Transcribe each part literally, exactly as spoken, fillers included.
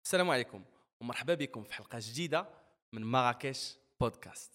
السلام عليكم ومرحبا بكم في حلقة جديدة من مراكش بودكاست.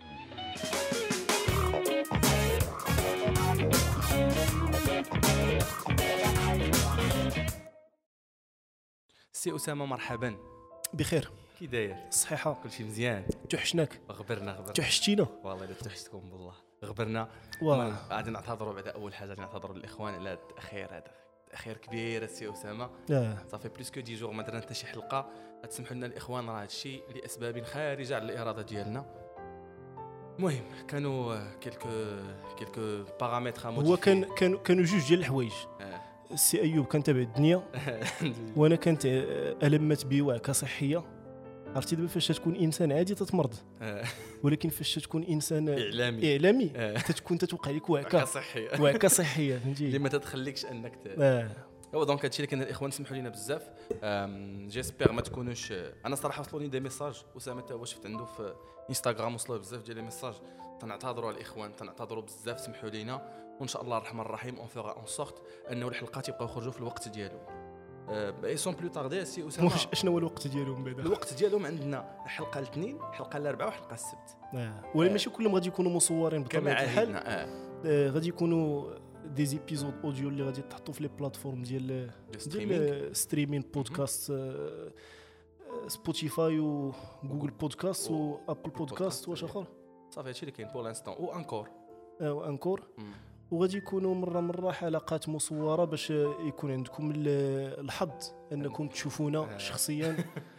سي أسامة مرحبا. بخير كي داير؟ الصحيحة كل شيء مزيان؟ توحشناك غبرنا غبرنا توحشتينا والله إلا توحشتكم بالله غبرنا. واه غادي نعتذروا بعد أول حاجة غادي نعتذروا للإخوان على التأخير هذا تأخير كبير السي أسامة. اه صافي بلوس كو دي جور ما درنا حتى شي حلقة. تسمحوا لنا الإخوان راه هادشي لأسباب خارجة على الإرادة ديالنا. المهم كانوا كيلكو كيلكو بارامتر هو كان كانوا كانوا جوج ديال الحوايج. السي ايوب كان تابع الدنيا وانا كنت المت بوعكه صحيه. عرفتي دابا فاش تكون انسان عادي تتمرض، ولكن فاش تكون انسان اعلامي اعلامي تتكون تتوقع لك وعكه صحيه وعكه صحيه فهمتي اللي ما تتخليكش انك ت... اه هو دونك هادشي اللي كان الاخوان سمحوا لنا بزاف. جيسبيغ ما تكونوش. انا صراحه وصلوني دي ميساج اسامه تا هو شفت عنده في انستغرام وصلوا بزاف ديال لي ميساج. تنعتذروا على الاخوان تنعتذروا بزاف سمحوا لينا وان شاء الله الرحمن الرحيم اون فورا اون سورت انه الحلقات يبقاو يخرجوا في الوقت ديالهم. اي سون بلو تاردي سي اسامه. شنو هو الوقت ديالهم بعدا؟ الوقت ديالهم عندنا حلقه الاثنين حلقه الاربعاء وحلقه السبت. اه ولا ماشي كلهم غادي يكونوا مصورين بطبيعه الحال. آه. آه غادي يكونوا دي زيبيزود اوديو اللي غادي تحطوا في لي بلاتفورم ديال ديال ستريمين بودكاست، آه سبوتيفاي وجوجل بودكاست وابل بودكاست واش اخر. صافي هادشي اللي كاين بور لانستون او انكور اه وانكور. وغادي يكونوا مره مره حلقات مصوره باش يكون عندكم الحظ انكم تشوفونا شخصيا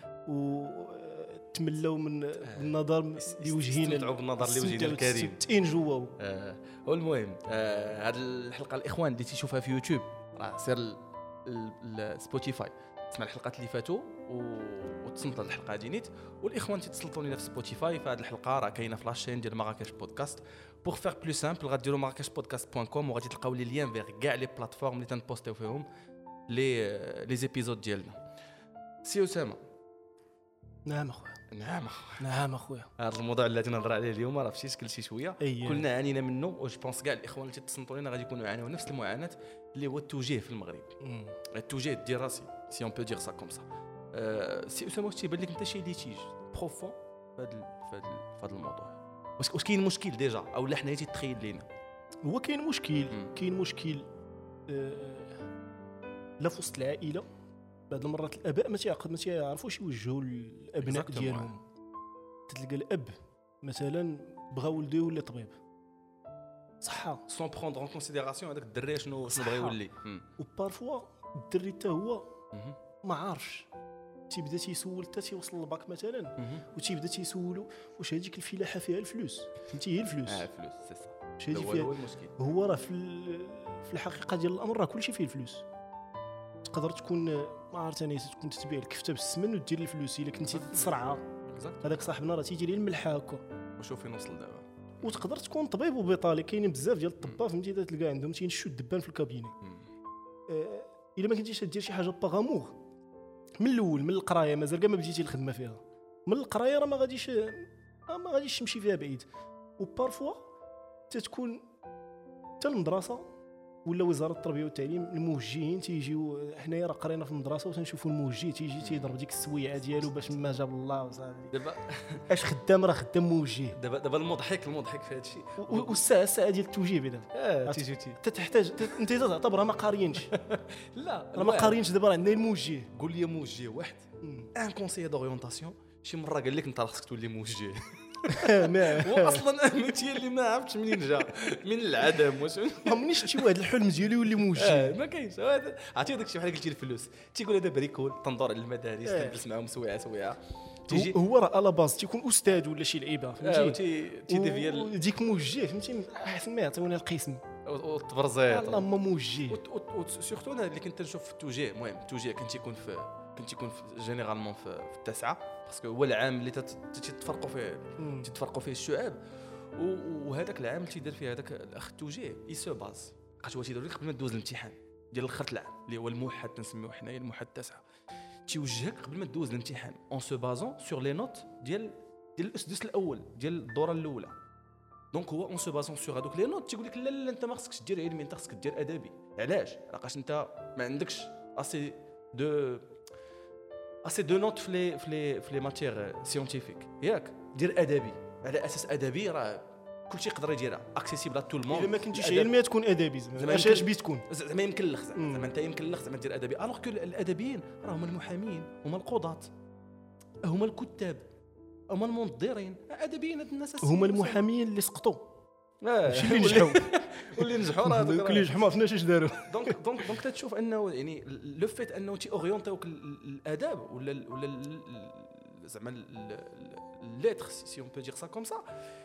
وتملوا من النظر لوجهينا تستمتعوا بالنظر لوجهنا الكريم تين جوا. آه والمهم هذه آه الحلقه الاخوان اللي تيشوفها في يوتيوب راه سير سبوتيفاي تسمع الحلقات اللي فاتوا وتصنت الحلقه هذه نيت. والاخوان تيتصلتوا لنا في سبوتيفاي فهاد الحلقه راه كاينه في لاشين ديال مراكش بودكاست. بوغ فير بلو سامبل غاديروا مراكش بودكاست دوت كوم وغادي تلقاو لي ليان فيغ كاع لي بلاتفورم اللي تنبوستيو فيهم لي لي زيبيزود ديالنا. سي اسامه. نعم اخويا. نعم اخويا. نعم اخويا. هذا الموضوع اللي نهضر عليه اليوم راه فشي شكل شي شويه أيه. كلنا عانينا منه و جو بونس كاع الاخوان اللي تتصنتوا لنا غادي يكونوا يعانيوا نفس المعاناه اللي هو التوجيه في المغرب. التوجيه الدراسي سي اون بو دير سا كوم سا. سي اسامه واش تيبان لك انت شي ليتيج بروفون في هذا في هذا الموضوع؟ واش واش كاين مشكل ديجا او لا حنا تيتخيل لينا؟ هو كاين مشكل كاين مشكل آه لا في وسط العائله. بعض المرات الاباء ما تيعقد ما تيعرفوش يوجهوا الابناء ديالهم. تلقى الاب مثلا بغى ولده يولي طبيب صحه سون بروندر اون كونسيديراسيون هذاك الدري شنو شنو بغى يولي. وبارفوا الدري حتى هو ما عارفش تيبدا تيسول حتى تيوصل للباك مثلا وتيبدا تيسولو واش هذيك الفلاحه فيها الفلوس. فهمتي هي الفلوس. اه الفلوس سي سا واش هذه فيها هو المشكل. هو راه في في الحقيقه ديال الامر راه كلشي فيه الفلوس. تقدر تكون ما عرفت انا تكون تتبيع الكفته بالسمن ودير الفلوس الا كنتي تصرعها. هذاك صاحبنا راه تيجي ليه الملحه هكا وشوف فين وصل دابا. وتقدر تكون طبيب وبيطالي كاينين بزاف ديال الطباء فهمتي تلقى عندهم تينشوا الدبان في الكابيني. آه الا ما كنتيش دير شي حاجه باغامور من الاول من القرايه مازال كاع ما بديتي الخدمه فيها من القرايه راه ما غاديش ما غاديش تمشي فيها بعيد. وبارفوا تتكون حتى المدرسه ولا وزاره التربيه والتعليم الموجهين تيجيو حنايا راه قرينا في المدرسه وتنشوفوا الموجه تيجي تيضرب ديك السويعه ديالو باش ما جاب الله وصافي. دابا اش خدام راه خدام موجه. دابا دابا المضحك المضحك في هذا الشيء والساعه الساعه ديال التوجيه بعدا اه تيجي تي تحتاج انت تعتبرها ما قاريينش. لا راه ما قاريينش دابا راه عندنا الموجه. قول لي موجه واحد ان كونسيي دوريونطاسيون شي مره قال لك انت خصك تولي موجه. هو اصلا انت اللي ما عرفتش منين جا من العدم واش ما منيش شي واحد الحلم ديالو يولي موجه. آه ما كاينش عرفتي داك الشيء بحال قلتي الفلوس تيقول هذا بريكول تندور على المدارس تجلس معاهم سويعه سويعه تيجي هو راه على باز تيكون استاذ ولا شي لعيبه فهمتي تيديفيا ديك موجه فهمتي احسن ما يعطيونا القسم والتبرزيط الله ما موجه. سورتو انا اللي كنت نشوف في التوجيه. المهم التوجيه كنت يكون في كنت يكون جينيرالمون في, في التاسعه باسكو هو العام اللي تتفرقوا فيه تتفرقوا فيه الشعاب. وهذاك العام اللي تيدير فيه هذاك الاخ التوجيه اي سو باز بقات هو تيدير لك قبل ما دوز الامتحان ديال الاخر العام اللي هو الموحد تنسميوه حنايا الموحد التاسعه. تيوجهك قبل ما دوز الامتحان اون سو بازون سور لي نوت ديال ديال الاسدس الاول ديال الدوره الاولى. دونك هو اون سو بازون سور هذوك لي نوت تيقول لك لا لا انت ما خصكش دير علمي انت خصك دير ادبي. علاش؟ لاقاش انت ما عندكش اسي دو اسي دو نوت في لي في لي في لي ماتير سيونتيفيك ياك دير ادبي على اساس ادبي راه كلشي يقدر يديرها اكسيسيبل ا تو الموند. الا ما كنتيش علمي تكون ادبي زعما اش بي تكون زعما يمكن لك زعما انت يمكن لك زعما دير ادبي الوغ كو الادبيين راه هما المحامين هما القضاة هما الكتاب هما المنظرين ادبيين هاد الناس هما المحامين اللي سقطوا ماشي اللي نجحوا واللي نجحوا راه دوك اللي نجحوا ما عرفناش اش داروا. دونك دونك دونك تشوف انه يعني لو فيت انه تي اورينتيوك الاداب ولا ولا زعما الليتر سي اون بو دير سا كوم سا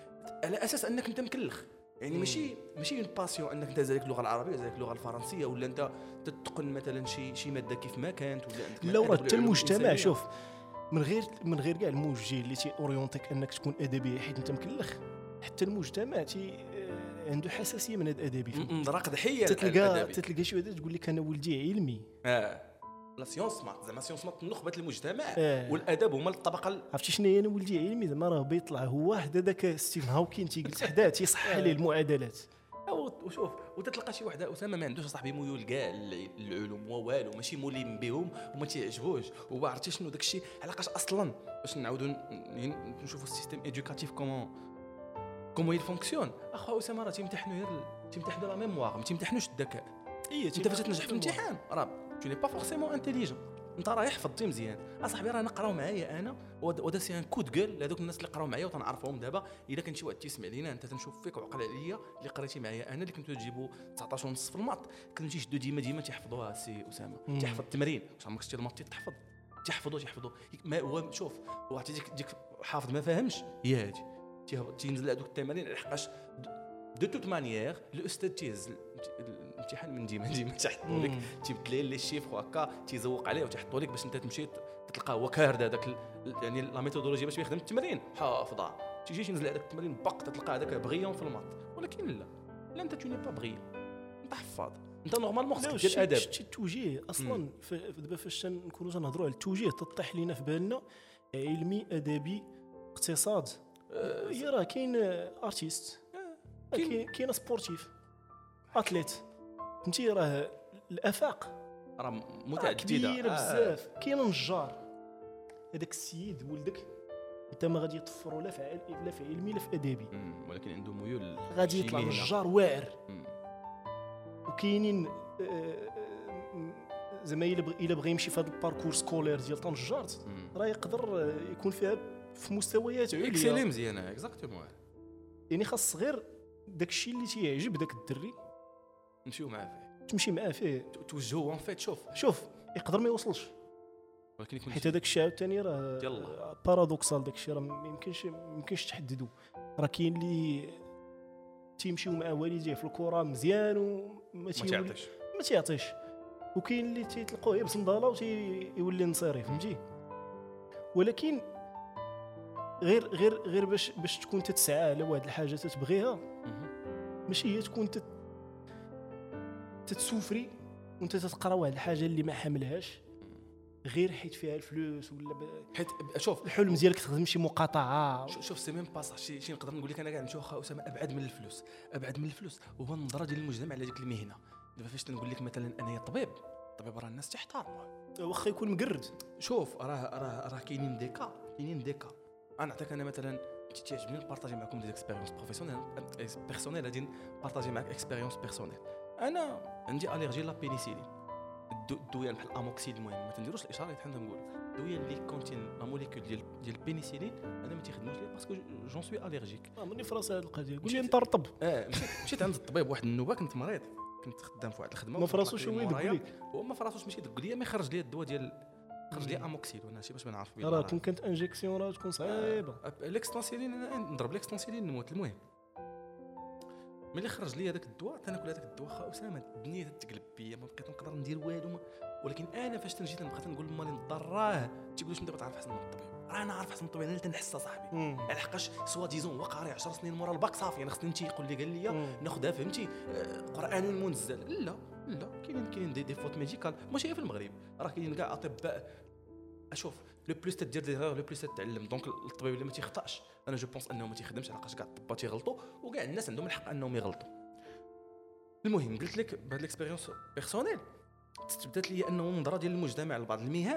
على اساس انك انت مكلخ يعني ماشي ماشي اون باسيون انك انت زالك اللغه العربيه زالك اللغه الفرنسيه ولا انت تتقن مثلا شي شي ماده كيف ما كانت ولا انت لا راه حتى المجتمع شوف من غير من غير كاع الموجه اللي تي اورينتيك انك تكون ادبي حيت انت مكلخ حتى المجتمع تي عنده حساسيه من هذا الادبي راك ضحيه تتلقى تتلقى شي واحد تقول لك انا ولدي علمي اه لا سيونس مات زعما سيونس مات نخبه المجتمع آه. والادب هما الطبقه عرفتي شنو هي انا ولدي علمي زعما راه بيطلع هو واحد هذاك ستيفن هاوكين تيجلس حداه تيصحح ليه المعادلات وشوف وتتلقى شي واحد اسامه ما عندوش صاحبي ميول كاع العلوم والو ماشي مولين بهم وما تيعجبوش وعرفتي شنو داكشي علاقاش اصلا باش نعاودوا نشوفوا السيستيم ايدوكاتيف كومون كومون يل فونكسيون اخو اسامه راه تيمتحنوا غير تيمتحنوا لا ميموار ما تيمتحنوش الذكاء. انت فاش تنجح في الامتحان راه tu n'es pas forcément intelligent انت راه حفظتي مزيان اصاحبي راه نقراو معايا انا ودا سي ان كود جول لهذوك الناس اللي قراو معايا وتنعرفهم دابا الا كان شي واحد تيسمع لينا انت تنشوف فيك وعقل عليا اللي قريتي معايا انا اللي كنتو تجيبوا تسعطاش ونص في الماط كنتو تيشدوا ديما ديما تيحفظوها سي اسامه تيحفظ التمرين واش عمرك شتي الماط تحفظ تيحفظوا تيحفظوا ما هو شوف هو عرفتي ديك ديك حافظ ما فاهمش هي هادي تينزل هذوك التمارين لحقاش دو توت مانيير الاستاذ تيهز الامتحان من ديما ديما تيحطوا لك تيبدل لي الشيفر هكا تيزوق عليه وتيحطوا لك باش انت تمشي تلقاه هو كارد هذاك يعني لا ميثودولوجيا باش يخدم التمرين حافظه تيجي تنزل هذاك التمرين باق تلقى هذاك بغيون في الماط ولكن لا لا انت توني با بغيون انت حفاظ انت نورمالمون خصك دير ادب شتي التوجيه اصلا دابا فاش نكونوا تنهضروا على التوجيه تطيح لينا في بالنا علمي ادبي اقتصاد هي راه كاين ارتيست كاين كاين سبورتيف اتليت فهمتي راه الافاق راه متعدده كبيره بزاف آه. كاين نجار هذاك السيد ولدك انت ما غادي يطفروا لا في لا في علمي لا في ادبي ولكن عنده ميول غادي يطلع نجار واعر وكاينين زعما الا بغى يمشي في هذا الباركور سكولير ديال طنجارت راه يقدر يكون فيها في مستويات عليا اكسيلي مزيانه اكزاكتومون يعني خاص غير داكشي اللي تيعجب داك الدري نمشيو معاه فيه تمشي معاه فيه توجهو ان فيت شوف شوف يقدر ما يوصلش ولكن يكون حيت هذاك الشيء عاوتاني راه بارادوكسال داك الشيء راه ما يمكنش ما يمكنش تحددو راه كاين اللي تيمشيو مع والديه في الكره مزيان وما تيعطيش ما تيعطيش وكاين اللي تيتلقوه يبس نضاله وتيولي نصيري فهمتي ولكن غير غير غير باش باش تكون تتسعى على واحد الحاجه تتبغيها ماشي هي تكون تت... تتسوفري وانت تتقرا واحد الحاجه اللي ما حاملهاش غير حيت فيها الفلوس ولا ب... حيت شوف الحلم ديالك تخدم شي مقاطعه شوف سي ميم با صح شي شي نقدر نقول لك انا كاع نمشيو واخا اسامه ابعد من الفلوس ابعد من الفلوس هو النظره ديال المجتمع على ديك المهنه دابا فاش تنقول لك مثلا انا طبيب الطبيب راه الناس تحترمه واخا يكون مقرد شوف راه راه راه كاينين ديكا كاينين ديكا انا نعطيك انا مثلا تيعجبني نبارطاجي معكم دي اكسبيريونس بروفيسيونيل بيرسونيل غادي نبارطاجي معك اكسبيريونس بيرسونيل انا عندي اليرجي لا بينيسيلين الدويه بحال الاموكسيل المهم ما تنديروش الاشاره اللي حنا نقولوا الدويه اللي كونتين لا موليكول ديال ديال البينيسيلين انا ما تيخدموش لي باسكو جون سوي اليرجيك اه ماني فراسه هذه القضيه قول لي نطرطب اه مشيت عند الطبيب واحد النوبه كنت مريض كنت خدام في واحد الخدمه ما فراسوش هو يدق لك هو ما فراسوش ماشي يدق لي ما يخرج لي الدواء ديال خرج لي اموكسيل وانا شي باش ما نعرف بها راه كون كانت انجيكسيون راه تكون صعيبه الاكستانسيلين انا نضرب الاكستانسيلين نموت المهم ملي خرج لي هذاك الدواء تناكل هذاك الدواء خا اسامه الدنيا تتقلب بيا ما بقيت نقدر ندير والو ولكن انا فاش تنجي بقيت نقول لمالي نضراه تيقول لي انت بتعرف احسن من الطبيب راه انا عارف احسن من الطبيب انا تنحس صاحبي على حقاش سوا ديزون هو قاري عشر سنين مورا الباك صافي انا خصني انت يقول لي قال لي ناخذها فهمتي قران المنزل لا لا كاينين كاينين دي, دي فوت ميديكال ماشي في المغرب راه كاينين كاع اطباء اشوف لو بلوس تدير دي لو بلوس تتعلم دونك الطبيب اللي ما تيخطاش انا جو بونس انه ما تيخدمش علاش كاع الطباء تيغلطوا وكاع الناس عندهم الحق انهم يغلطوا المهم قلت لك بهاد الاكسبيريونس بيرسونيل تثبتت لي انه النظره ديال المجتمع لبعض المهن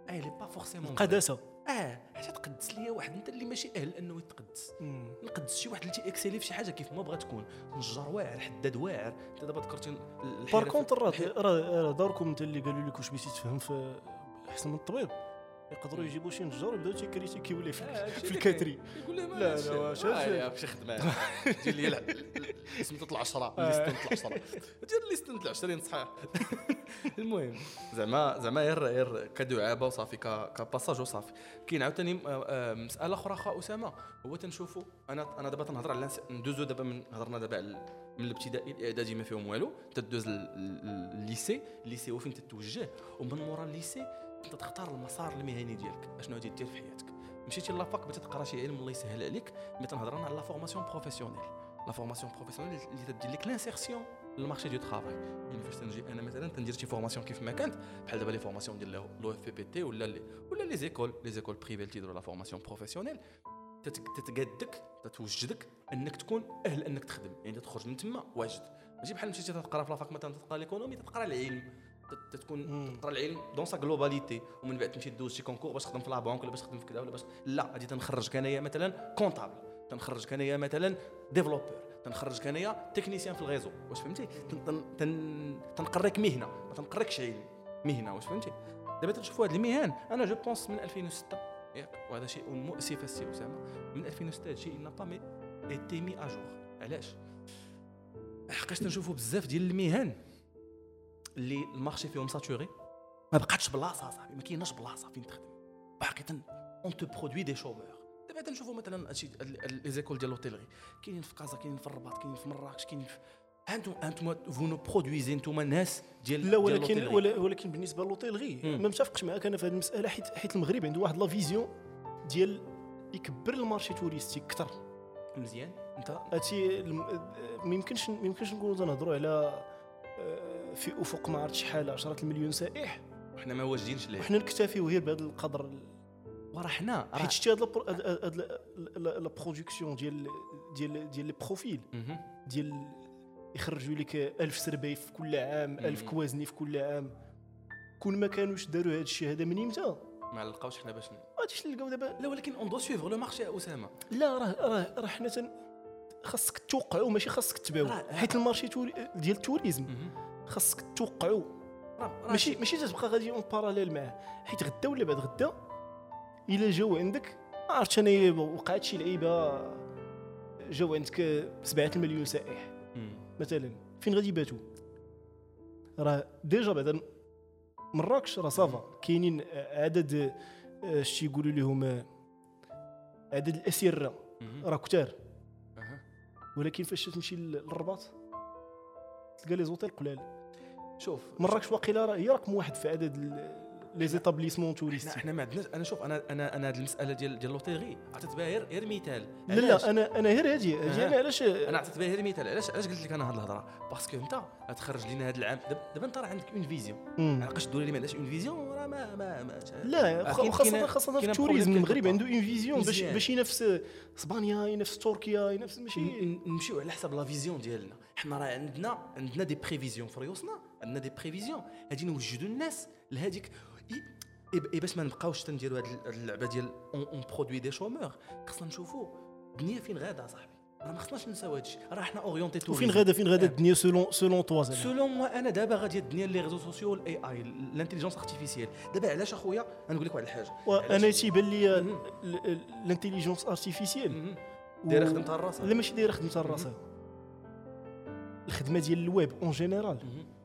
اي لي با فورسيمون القداسه اه حتى تقدس ليا واحد انت اللي ماشي اهل انه يتقدس. نقدس شي واحد اللي تيكسيلي في شي حاجه كيف ما بغا تكون، نجار واعر، حداد واعر. انت دابا ذكرتي بار كونتر راه راه داركم انت اللي قالوا لك واش بغيتي تفهم في احسن من الطبيب، يقدروا يجيبوا شي نجار ويبداو تيكريتيكيو ليه في, آه في الكاتري. يقول لهم لا لا واش شي خدمه دير لي سميتو العشرة ليستنت العشرة دير ليستنت العشرين صحيح. المهم زعما زعما غير غير كدعابه وصافي كباساج وصافي. كاين عاوتاني مساله اخرى خا اسامه، هو تنشوفوا انا انا دابا تنهضر على ندوزو دابا من هضرنا دابا من الابتدائي الاعدادي ما فيهم والو، تدوز الليسي الليسي هو فين تتوجه، ومن مورا الليسي انت تختار المسار المهني ديالك اشنو غادي دير في حياتك. مشيتي لافاك بغيتي تقرا شي علم الله يسهل عليك، ملي تنهضر انا على لا فورماسيون بروفيسيونيل. لا فورماسيون بروفيسيونيل اللي تدير لك لانسيرسيون للمارشي دو طرافاي. يعني فاش تنجي انا مثلا تندير شي فورماسيون كيف ما كانت بحال دابا لي فورماسيون ديال لو اف بي بي تي ولا لي ولا لي زيكول لي زيكول بريفي تيديروا لا فورماسيون بروفيسيونيل، تتقادك تتوجدك انك تكون اهل انك تخدم. يعني تخرج من تما واجد، ماشي بحال مشيتي تقرا في لافاك مثلا تقرا ليكونومي تقرا العلم، تتكون تقرا العلم دون سا غلوباليتي، ومن بعد تمشي دوز شي كونكور باش تخدم في لا بانك ولا باش تخدم في كذا ولا باش لا غادي تنخرج انايا مثلا كونطابل، تنخرج انايا مثلا ديفلوبور، تنخرج انايا تكنيسيان في الغيزو. واش فهمتي؟ تنقريك مهنه ما تنقريكش علم، مهنه. واش فهمتي؟ دابا تنشوفوا هاد المهن انا جو بونس من ألفين وستة ياك، وهذا شيء مؤسف السي اسامه، من ألفين وستة هذا الشيء n'a pas été mis à jour. علاش؟ حقاش تنشوفوا بزاف ديال المهن اللي المارشي فيهم ساتوري، ما بقاتش بلاصه صاحبي، ما كايناش بلاصه فين تخدم باقي اون تو برودوي دي شومور. دابا تنشوفوا مثلا هادشي لي زيكول ديال لوتيلري كاينين في كازا، كاينين في الرباط، كاينين في مراكش، كاينين في انتم انتم فو نو برودويزي نتوما ناس ديال لا ولكن ولكن بالنسبه للوتيلري ما متفقش معاك انا في هذه المساله، حيت حيت المغرب عنده واحد لا فيزيون ديال يكبر المارشي توريستي اكثر. مزيان انت هادشي ما يمكنش ما يمكنش نقولوا تنهضروا على في افق ما عرفت شحال عشرة المليون سائح وحنا ما واجدينش ليه، وحنا نكتفيو غير بهذا القدر. وراه حنا حيت شتي هاد لا برودكسيون ديال ديال ديال لي بروفيل ديال يخرجوا لك ألف سربي في كل عام، ألف كوازني في كل عام. كون ما كانوش داروا هذا الشيء هذا من امتى ما لقاوش حنا باش غاديش نلقاو دابا. لا ولكن اون دو سويفغ لو مارشي يا اسامه. لا راه راه راه حنا تن خاصك توقعوا ماشي خاصك تباعوا، حيت المارشي توري ديال التوريزم خاصك توقعوا، ماشي ماشي تبقى غادي اون باراليل معاه. حيت غدا ولا بعد غدا الا جاو عندك ما عرفتش انا وقعت شي لعيبه جاو عندك سبعة المليون سائح مثلا، فين غادي يباتوا؟ راه ديجا بعدا مراكش راه صافا كاينين عدد اش يقولوا لهم عدد الاسره راه كثار، ولكن فاش تمشي للرباط تلقى لي زوطيل قلال. شوف مراكش واقيلا راه هي رقم واحد في عدد لي زيتابليسمون توريستي. احنا ما عندناش. انا شوف انا انا انا هذه المساله ديال ديال لوطيغي عطيت بها غير غير مثال. لا لا انا انا غير هادي هادي انا علاش انا عطيت بها غير مثال. علاش علاش قلت لك انا هذه الهضره؟ باسكو انت غتخرج لينا هذا العام دابا انت راه عندك اون فيزيون، علاش تقول لي ما عندهاش اون فيزيون؟ راه ما ما, ما لا خاصه خاصه في التوريزم المغرب عنده اون فيزيون باش باش ينافس اسبانيا ينافس تركيا ينافس ماشي نمشيو على حسب لا فيزيون ديالنا. حنا راه عندنا عندنا دي بريفيزيون في ريوسنا، عندنا دي بريفيزيون غادي نوجدوا الناس لهذيك اي باش ما نبقاوش تنديروا هذه اللعبه ديال اون برودوي دي شومور. خصنا نشوفوا الدنيا فين غادا صاحبي، راه ما خصناش نساو هادشي. راه حنا اورينتي تو فين غادا فين غادا الدنيا سولون سولون توا سولون موا انا دابا غادي الدنيا لي ريزو سوسيو والاي اي الانتيليجنس ارتيفيسيال. دابا علاش اخويا نقول لك واحد الحاجه، انا تيبان لي الانتيليجنس ارتيفيسيال دايره خدمتها راسها. لا ماشي دايره خدمتها راسها، الخدمه ديال الويب اون جينيرال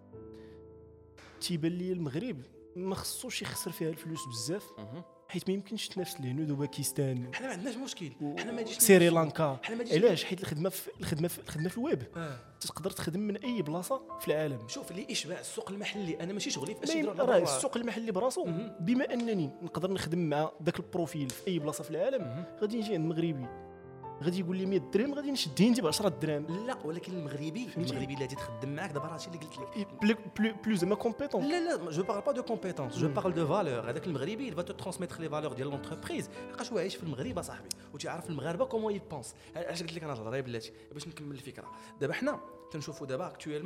تيبان لي المغرب ما خصوش يخسر فيها الفلوس بزاف، حيت ما يمكنش تنافس الهنود وباكستان. حنا ما عندناش مشكل، حنا ما جيش سريلانكا. علاش؟ حيت الخدمه في الخدمه في الخدمه في الويب آه. تقدر تخدم من اي بلاصه في العالم. شوف اللي اشباع السوق المحلي، انا ماشي شغلي فاش نديروا راه السوق المحلي براسو. بما انني نقدر نخدم مع ذاك البروفيل في اي بلاصه في العالم، غادي نجي عند المغربي غادي يقول لي مية درهم غادي نشد عندي ب عشرة دراهم. لا ولكن المغربي المغربي اللي غادي تخدم معاك دابا راه هادشي اللي قلت لك بلو بلو زعما كومبيتونس. لا لا جو بارل با دو كومبيتونس، جو بارل دو فالور. هذاك المغربي فا تو ترانسميتر لي فالور ديال لونتربريز، لقاش هو عايش في المغرب صاحبي وتيعرف المغاربه كومون يبونس. علاش قلت لك انا الهضره بلاتي باش نكمل الفكره. دابا حنا تنشوفوا دابا اكطويلمون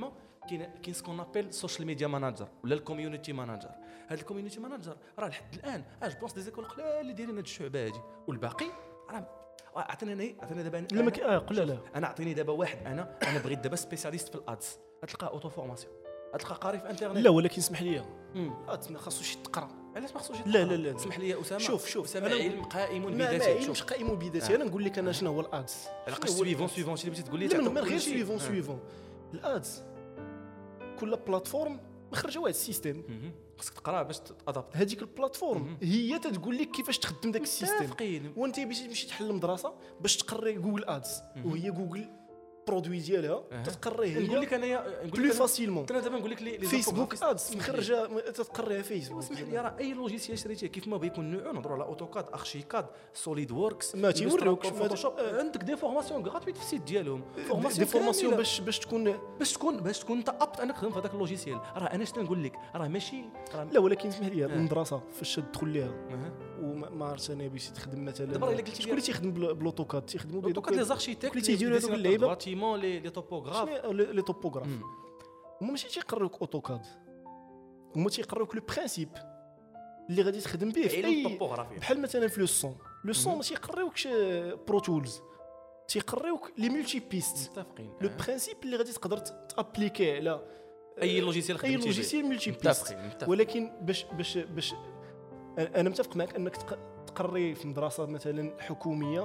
كاين كاين سكون ابل سوشيال ميديا ماناجر ولا الكوميونيتي ماناجر. هذا الكوميونيتي ماناجر راه لحد الان اج بونس دي زيكول قلال اللي دايرين هاد الشعبه هادي، والباقي راه عطيني انا عطيني دابا لا ما اه قول لا انا عطيني دابا واحد انا انا بغيت دابا سبيسياليست في الادز، غتلقى اوتو فورماسيون، غتلقى قاري في انترنت. لا ولكن اسمح لي امم خاصو شي تقرا. علاش ما خصوش لا لا لا اسمح لي اسامه. شوف شوف اسامه علم قائم بذاته. ما علم مش قائم بذاته. انا نقول لك انا شنو هو الادز. علاش سويفون سويفون شي اللي بغيتي تقول لي لا من غير سويفون سويفون الادز كل بلاتفورم مخرجه واحد السيستم خصك تقرا باش تادابت. هذيك البلاتفورم هي تتقول لك كيفاش تخدم داك السيستم، وانت باش تمشي تحل مدرسه باش تقري جوجل ادز وهي جوجل برودوي ديالها تتقريه هي. نقول لك انايا بلو فاسيلمون. انا دابا نقول لك لي فيسبوك ادز مخرجه تتقريها فيسبوك. اسمح لي راه اي لوجيسيال شريتيه كيف ما بيكون نوعو، نهضروا على اوتوكاد، ارشيكاد، سوليد ووركس، ما تيوروكش فوتوشوب. عندك دي فورماسيون غراتويت في السيت ديالهم، فورماسيون دي فورماسيون باش باش تكون باش تكون باش تكون انت ابط انك تخدم في هذاك اللوجيسيال. راه انا شنو نقول لك راه ماشي راه لا ولكن اسمح لي المدرسه فاش تدخل ليها وما عرفتش انا باش تخدم مثلا دابا الا قلتي شكون اللي تيخدم بالاوتوكاد تيخدموا بالاوتوكاد لي زاركتيكت اللي تيديروا هذوك اللعيبه باتيمون لي توبوغراف لي توبوغراف. هما ماشي تيقروك اوتوكاد، هما تيقروك لو برينسيپ اللي غادي تخدم به في اي بحال مثلا في لو سون. لو سون ماشي يقريوكش برو تولز، تيقريوك لي ملتي بيست. متفقين. لو برينسيپ اللي غادي تقدر تابليكي على اي لوجيسيال خدمتي اي لوجيسيال ملتي بيست. ولكن باش باش باش انا متفق معك انك تقري في مدرسه مثلا حكوميه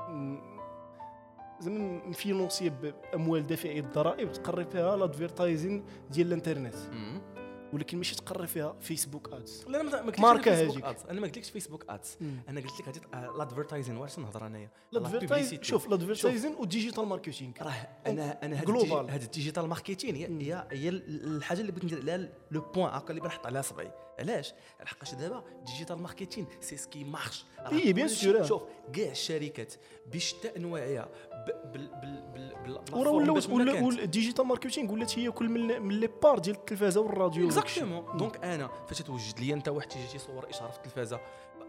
زعما مفينونسيه باموال دافعي الضرائب، تقري فيها الادفيرتايزين ديال الانترنت، ولكن ماشي تقري فيها فيسبوك ادز. لا انا ما ماركه هذيك انا ما قلتلكش فيسبوك ادز، انا قلت لك هذه الادفيرتايزين. واش نهضر انايا الادفيرتايزين؟ شوف الادفيرتايزين والديجيتال ماركتينغ راه انا انا هذا هذا الديجيتال ماركتينغ هي هي الحاجه اللي بغيت ندير عليها لو بوين هكا اللي بنحط عليها صبعي. علاش؟ لحقاش دابا ديجيتال ماركتينغ سي سكي مارش. اي بيان سور. شوف كاع الشركات بشتى انواعها بال بال بال والديجيتال ماركتينغ ولات هي كل من لي بار ديال التلفازه والراديو. اكزاكتومون. دونك انا فاش توجد لي انت واحد تيجي تيصور اشاره في التلفازه،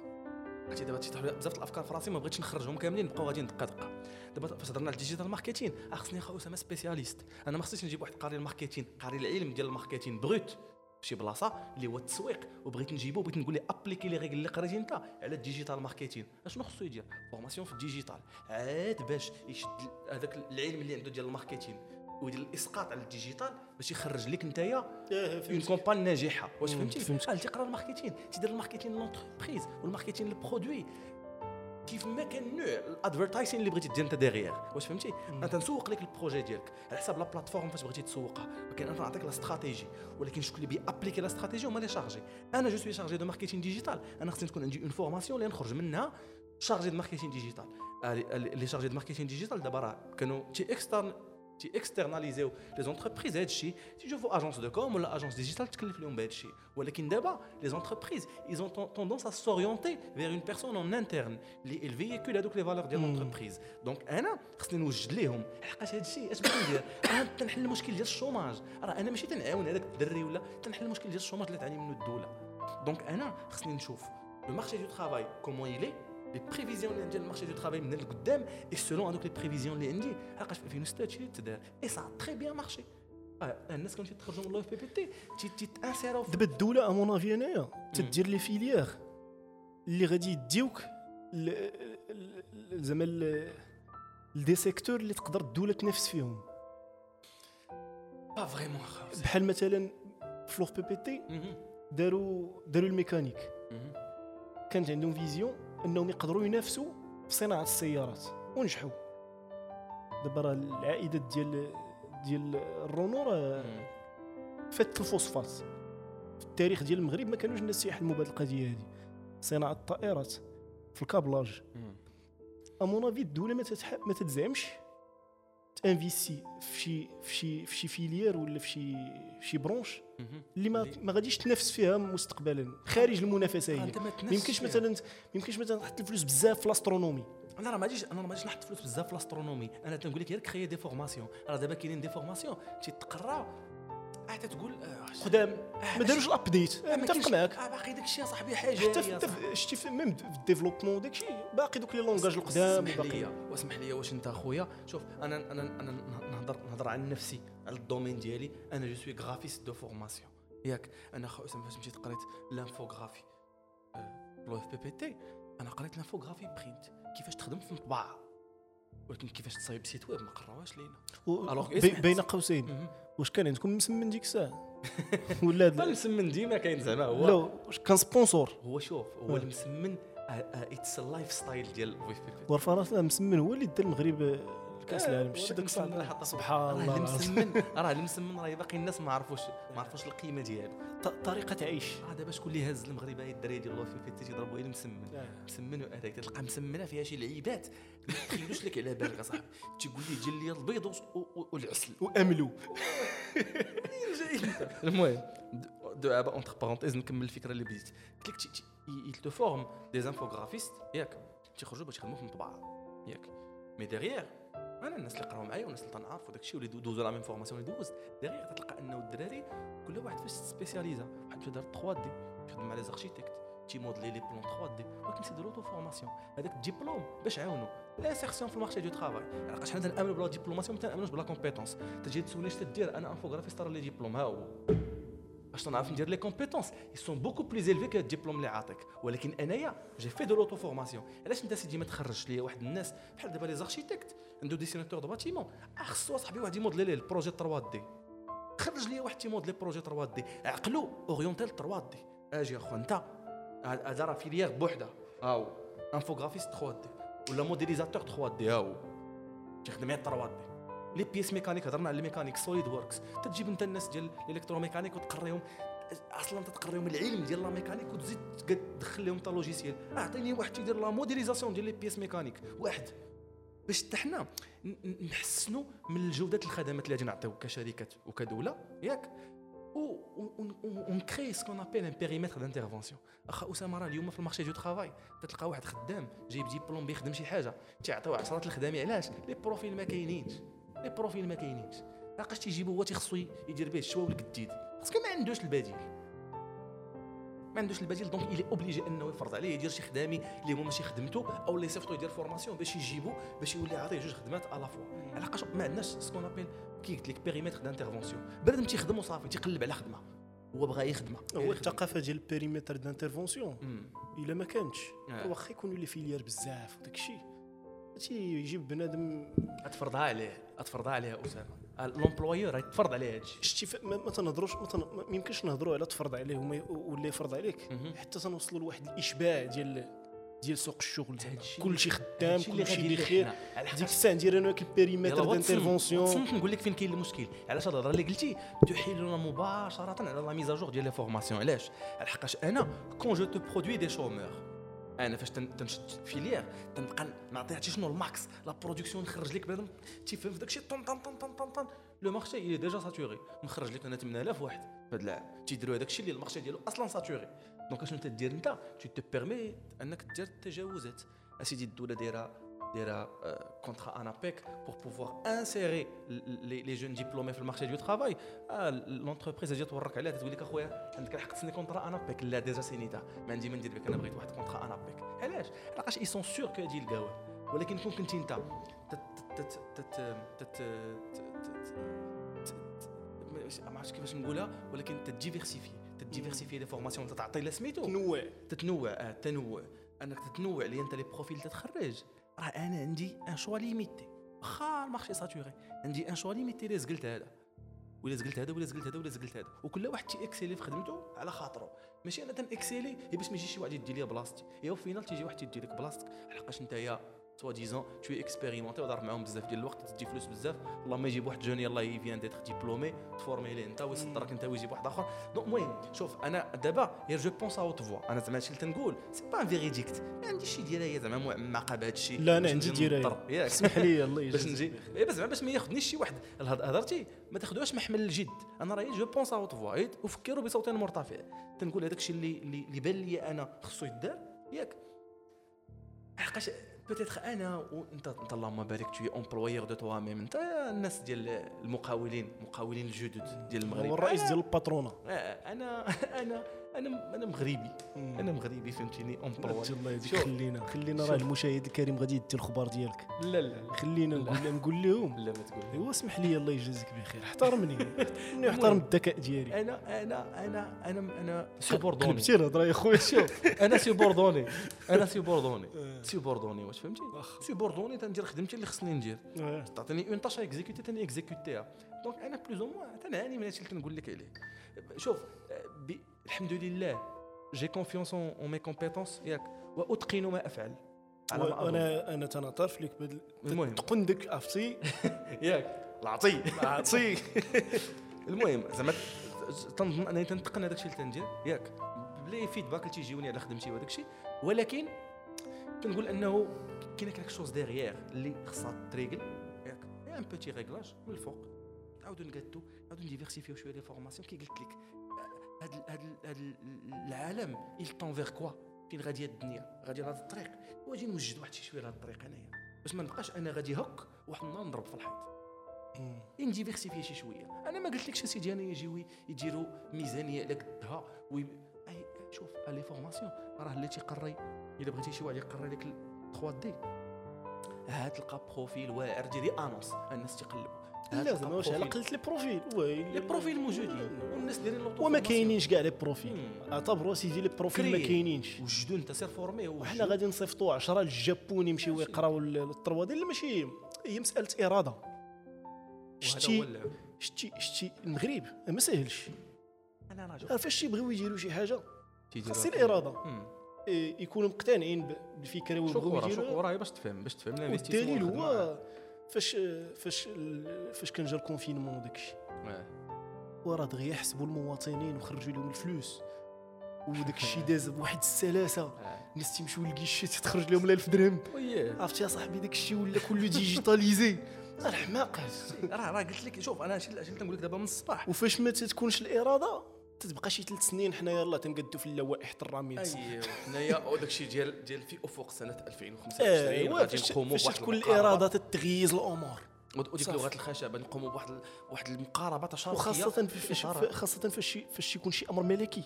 عرفتي دابا تيطيح بزاف الافكار في راسي ما بغيتش نخرجهم كاملين نبقاو غاديين دقه دقه. دابا فاش هضرنا على الديجيتال ماركتينغ خصني اخا اسامه سبيسياليست. انا ما خصنيش نجيب واحد قاري الماركتينغ قاري العلم ديال الماركتينغ بروت في شي بلاصه اللي هو التسويق، وبغيت نجيبو بغيت نقول لي ابليكي لي ريغل اللي قريتي انت على الديجيتال ماركتينغ. اشنو خصو يدير؟ فورماسيون في الديجيتال عاد باش يشد هذاك العلم اللي عنده ديال الماركتينغ ويدير الاسقاط على الديجيتال باش يخرج لك نتايا اون كومباني ناجحه. واش فهمتي؟ قال تيقرا الماركتينغ تيدير الماركتينغ لونتربريز والماركتينغ للبرودوي كيف ما كان نوع الادفيرتايزين اللي بغيتي دير انت ديغيير. واش فهمتي؟ انت نسوق لك البروجي ديالك على حساب لا بلاتفورم فاش بغيتي تسوقها، ولكن انا نعطيك لا استراتيجي، ولكن شكون اللي بيابليكي لا استراتيجي هما لي شارجي. انا جو سوي شارجي دو ماركتينغ ديجيتال، انا خصني تكون عندي اون فورماسيون اللي نخرج منها شارجي دو ماركتينغ ديجيتال. لي شارجي دو ماركتينغ ديجيتال دابا راه كانوا تي اكسترن تي اكسترناليزيو لي زونتربريز هذا الشيء، تيشوفوا اجونس دو كوم ولا اجونس ديجيتال تكلف لهم بهذا الشيء. ولكن دابا لي زونتربريز ils ont tendance à s'orienter vers une personne en interne اللي الفييكول هذوك لي فالور ديال لونتربريز. دونك انا خصني نوجد ليهم لحقاش هذا الشيء اش بغيت ندير؟ انا تنحل المشكل ديال الشوماج. راه انا ماشي تنعاون هذاك الدري ولا تنحل المشكل ديال الشوماج اللي تعاني منه الدوله. دونك انا خصني نشوف لو مارشي دو ترافاي كومون يلي لي بريفيزيون اللي ديال المارشي دو ترافاي من القدام اي سولون هذوك لي بريفيزيون اللي عندي لحقاش في ألفين وستة شي تدار اي سا تري بيان مارشي. الناس كانوا تيتخرجوا من لو اف بي بي تي تيتانسيروا. دابا الدوله امون افي انايا تدير لي فيليير اللي غادي يديوك زعما دي سيكتور اللي تقدر الدوله تنافس فيهم. با فريمون بحال مثلا في لو اف بي بي تي داروا داروا الميكانيك، كانت عندهم فيزيون انهم يقدروا ينافسوا في صناعه السيارات ونجحوا. دابا راه العائدات ديال ديال الرونو راه فات الفوسفات. في التاريخ ديال المغرب ما كانوش الناس يحلموا بهذه القضيه هذه، صناعه الطائرات في الكابلاج. امون افي الدوله ما تتح... ما تتزعمش تانفيسي في شي في شي في شي فيليير ولا في شي في شي برونش اللي ما ما غاديش تنافس فيها مستقبلا خارج المنافسه. هي ما يمكنش مثلا ما يمكنش مثلا تحط الفلوس بزاف في الاسترونومي. انا راه ما غاديش انا ما غاديش نحط فلوس بزاف في الاسترونومي. انا تنقول لك غير كريي دي فورماسيون. راه دابا كاينين دي فورماسيون تيتقرا حتى تقول قدام ما داروش الابديت متفق معاك اه باقي داكشي صاحبي حاجه حتى في شتي في ميم في الديفلوبمون داكشي باقي دوك لي لونغاج القدام اسمح لي واسمح لي واش انت اخويا شوف انا انا انا نهضر نهضر عن نفسي على الدومين ديالي انا جو سوي غرافيست دو فورماسيون ياك انا خو اسامه فاش مشيت قريت لانفوغرافي لو اف بي بي تي انا قريت لانفوغرافي برينت كيفاش تخدم في مطبعه ولكن كيفاش تصايب سيت ويب ما قراوهاش لينا بين قوسين واش كان عندكم مسمن ديك الساعه ولا هذا المسمن ديما كاين زعما هو لا واش كان سبونسور هو شوف هو المسمن اتس اللايف ستايل ديال الفي بي بي ورفرات المسمن هو اللي دار المغرب كاس العالم شتي داك سبحان الله المسمن راه المسمن راه باقي الناس ما عرفوش ما عرفوش القيمه ديالو طريقه عيش اه دابا شكون اللي هز المغرب هاي الدراري ديال الوفي في تيضربوا غير المسمن مسمن هذاك تلقى مسمنه فيها شي لعيبات ما تخيلوش لك على بالك اصاحبي تيقول لي دير لي البيض والعسل واملو المهم دابا اونتر بارونتيز نكمل الفكره اللي بديت قلت لك il te forme des infographistes ياك تيخرجوا باش يخدموا في المطبعه ياك مي ديغيير انا الناس اللي قراو معايا والناس اللي تنعرفوا داكشي واللي دوزوا لا ميم فورماسيون اللي دوزت ديغيير تلقى انه الدراري كل واحد فاش سبيسياليزا واحد في دار ثري دي يخدم مع لي زاركتيكت تي موديلي لي بلون ثري دي ولكن سي دو لوتو فورماسيون هذاك الدبلوم باش عاونوا لانسيرسيون في المارشي دو ترافاي لقاش حنا تنامنوا بلا ديبلوماسيون ما تنامنوش بلا كومبيتونس تجي تسولني اش تدير انا انفوغرافيست راه لي ديبلوم ها هو باش تنعرف ندير لي كومبيتونس ils sont beaucoup plus élevés que الدبلوم اللي عاطيك ولكن انايا جي في دو لوتو فورماسيون علاش انت سيدي ما تخرجش ليا واحد الناس بحال دابا لي زاركتيكت عنده ديسيناتور دو باتيمون خصو صاحبي واحد يموديلي ليه البروجي ثري دي خرج ليا واحد تيموديلي بروجي ثري دي عقلو اورينتال ثري دي اجي اخو انت هذا راه فيليير بوحده هاو انفوغرافيست ثري دي ولا موديليزاتور ثري دي هاو تخدم على ثري دي لي بيس ميكانيك هضرنا على الميكانيك سوليد وركس تجيب انت الناس ديال الالكتروميكانيك وتقريهم اصلا تتقريهم العلم ديال لا ميكانيك وتزيد تدخل لهم تا لوجيسيال اعطيني واحد تيدير لا موديليزاسيون ديال لي بيس ميكانيك واحد باش حتى حنا نحسنوا من الجوده الخدمات اللي غادي نعطيو كشركات وكدوله ياك ونكري سكون ابيل ان بيريمتر دانترفونسيون اخا اسامه راه اليوم في المارشي دو ترافاي تلقى واحد خدام جايب ديبلوم بيخدم شي حاجه تيعطيو عشرات الخدامي علاش لي بروفيل ما كاينينش لي بروفيل ما كاينينش لاقاش تيجيبو هو تيخصو يدير به الشوا والقديد باسكو ما عندوش البديل ما عندوش البديل دونك الي اوبليجي انه يفرض عليه يدير شي خدامي اللي هما ماشي خدمته او اللي صيفطو يدير فورماسيون باش يجيبو باش يولي عاطيه جوج خدمات الا فوا علاش ما عندناش سكون ابيل كي قلت لك بيريمتر دانترفونسيون بنادم تيخدم وصافي تيقلب على خدمه هو بغى يخدمها هو الثقافه ديال البيريمتر دانترفونسيون الا ما كانتش واخا يكونوا لي فيليير بزاف وداك الشيء تيجيب بنادم تفرضها عليه تفرضها عليه اسامه لومبلويور يتفرض عليه هادشي شتي ما, ما تنهضروش ما يمكنش نهضروا على تفرض عليه ولا يفرض عليك حتى تنوصلوا لواحد الاشباع ديال ديال سوق الشغل كلشي خدام كلشي بخير ديك الساعه ندير انا كبيريمتر دانترفونسيون نقول لك فين كاين المشكل علاش الهضره اللي قلتي تحيلنا مباشره على لا ميزاجور ديال لي فورماسيون علاش لحقاش انا كون جو تو برودوي دي شومور انا فاش تنشد فيليير تنبقى نعطي عرفتي شنو الماكس لا برودكسيون نخرج لك بنادم تيفهم في داكشي طن طن طن طن طن لو مارشي اي ديجا ساتوري نخرج لك انا ثمانية آلاف واحد في هذا العام تيديروا هذاك الشيء اللي المارشي ديالو اصلا ساتوري دونك شنو تدير انت تو تي بيرمي انك دير التجاوزات اسيدي الدوله دايره دايره كونترا انابيك بور بوفوار انسيري لي لي جون ديبلومي في المارشي دو ترافاي لونتربريز اجي تورك عليها تقول لك اخويا عندك الحق تسني كونترا انابيك لا ديجا سينيتا ما عندي ما ندير بك انا بغيت واحد كونترا انابيك علاش لقاش اي سون سور كو هادي الكاوه ولكن كون كنتي انت تت تت ما عرفتش كيفاش نقولها ولكن تديفيرسيفي تديفيرسيفي لي فورماسيون تعطي لا سميتو تنوع تتنوع اه تنوع انك تتنوع لي انت لي بروفيل تتخرج راه انا عندي ان شوا ليميتي واخا المارشي ساتوري عندي ان شوا ليميتي لي زقلت هذا ولا زقلت هذا ولا زقلت هذا ولا زقلت هذا وكل واحد تي اكسيلي في خدمته على خاطره ماشي انا تن اكسيلي هي باش ما يجي شي واحد يدي لي بلاصتي هي وفينال تيجي واحد يدي لك بلاصتك لحقاش نتايا سوا ديزون تو اكسبيريمونتي وضرب معاهم بزاف ديال الوقت تدي فلوس بزاف والله ما يجيب واحد جون يلاه يفيان ديتر ديبلومي تفورمي ليه انت ويصدرك انت ويجيب واحد اخر دونك المهم شوف انا دابا غير جو بونس اوت فوا انا زعما هادشي اللي تنقول سي با ان فيريديكت ما عنديش شي ديالها زعما معقه بهذا الشيء لا انا عندي ديالها اسمح لي الله يجزيك باش نجي اي بس زعما باش ما ياخذنيش شي واحد هضرتي ما تاخذوهاش محمل الجد انا راهي جو بونس اوت فوا وفكروا بصوت مرتفع تنقول هذاك الشيء اللي اللي بان لي انا خصو يدار ياك حقاش بوتيتر انا وانت انت اللهم بارك تو امبلويور دو توا ميم انت الناس ديال المقاولين مقاولين الجدد ديال المغرب هو الرئيس ديال الباترونه. انا انا انا انا مغربي انا مغربي فهمتيني امبلوي. الله يجزيك. خلينا خلينا راه المشاهد الكريم غادي يدي الخبار ديالك. لا لا خلينا نقول نقول لهم. لا ما تقول. ايوا اسمح لي الله يجازيك بخير. احترمني اني احترم الذكاء ديالي. انا انا انا انا انا سوبوردوني. كتبتي الهضره يا خويا. شوف انا سوبوردوني انا سوبوردوني سوبوردوني واش فهمتي سوبوردوني تندير خدمتي اللي خصني ندير. تعطيني اون طاش اكزيكوتي تاني اكزيكوتيها. دونك انا بلوز او موان تنعاني من هادشي اللي كنقول لك عليه. شوف الحمد لله جي كونفيونس اون مي كومبيتونس ياك واتقن ما افعل. انا انا تنعترف لك بهذا المهم تقن داك عرفتي ياك العطي العطي. المهم زعما تنظن انني تنتقن هذاك الشيء اللي تندير ياك بلي فيدباك اللي تيجيوني على خدمتي وهذاك الشيء. ولكن كنقول انه كاين كاك شوز ديغيير اللي خصها تريغل ياك ان بوتي ريغلاج من الفوق. نعاودو نقادو نعاودو نديفيرسيفيو شويه لي فورماسيون. كي قلت لك هذا هذا العالم il tend vers quoi فين غادي الدنيا غادي لهاد الطريق. واجي نوجد واحد شي شويه لهاد الطريق انايا باش ما نبقاش انا غادي هك واحد النهار نضرب في الحيط. نديفيرسيفي شي شويه. انا ما قلت لكش سيدي انا يجيو يديروا ميزانيه على قدها وي... اي شوف لي فورماسيون راه اللي تيقري الا بغيتي شي واحد يقري لك ثري دي ها تلقى بروفيل واعر ديري انونس الناس تيقلبوا. لازم واش على قلت لي بروفيل لي بروفيل موجودين والناس دايرين لوطو وما كاينينش كاع لي بروفيل. اعتبروا سيدي لي بروفيل ما كاينينش وجدوا انت سير فورمي وحنا غادي نصيفطوا عشرة للجابون يمشيو يقراو الثري دي. ماشي هي مساله اراده. شتي شتي شتي المغرب ما ساهلش. انا راجل فاش تيبغيو يديروا شي حاجه خاص الاراده يكونوا مقتنعين بالفكره ويبغيو يديروا. شوف راه باش تفهم باش تفهم الدليل هو فاش فاش فاش كان جا الكونفينمون وداكشي وراه دغيا حسبوا المواطنين وخرجوا لهم الفلوس وداك الشيء داز بواحد السلاسه. الناس تيمشيو للكيشي تخرج لهم ألف درهم. عرفتي يا صاحبي داك الشيء ولا كله ديجيتاليزي. الحماق راه راه قلت لك شوف انا شي اللي تنقول لك دابا من الصباح. وفاش ما تتكونش الاراده تتبقى شي ثلاث سنين حنايا يلاه تنقدوا في اللوائح الراميد. ايوا حنايا وداك الشيء ديال ديال في افق سنه ألفين وخمسة وعشرين غادي نقوموا بواحد تكون الاراده تتغيز الامور وديك لغه الخشبه نقوموا بواحد واحد المقاربه تشاركيه وخاصه فاش خاصه فاش فاش يكون شي امر ملكي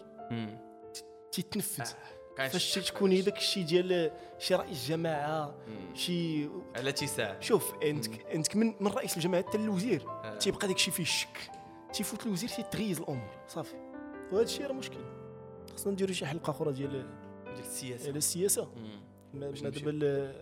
تيتنفذ. فاش تكون داك الشيء ديال شي رئيس جماعه شي على تيساع. شوف انت انت من من رئيس الجماعه حتى الوزير تيبقى داك الشيء فيه الشك تيفوت الوزير تيتغيز الامور صافي. وهذا الشيء راه مشكل. خصنا نديروا شي حلقه اخرى ديال ديال السياسه على السياسه. ما دابا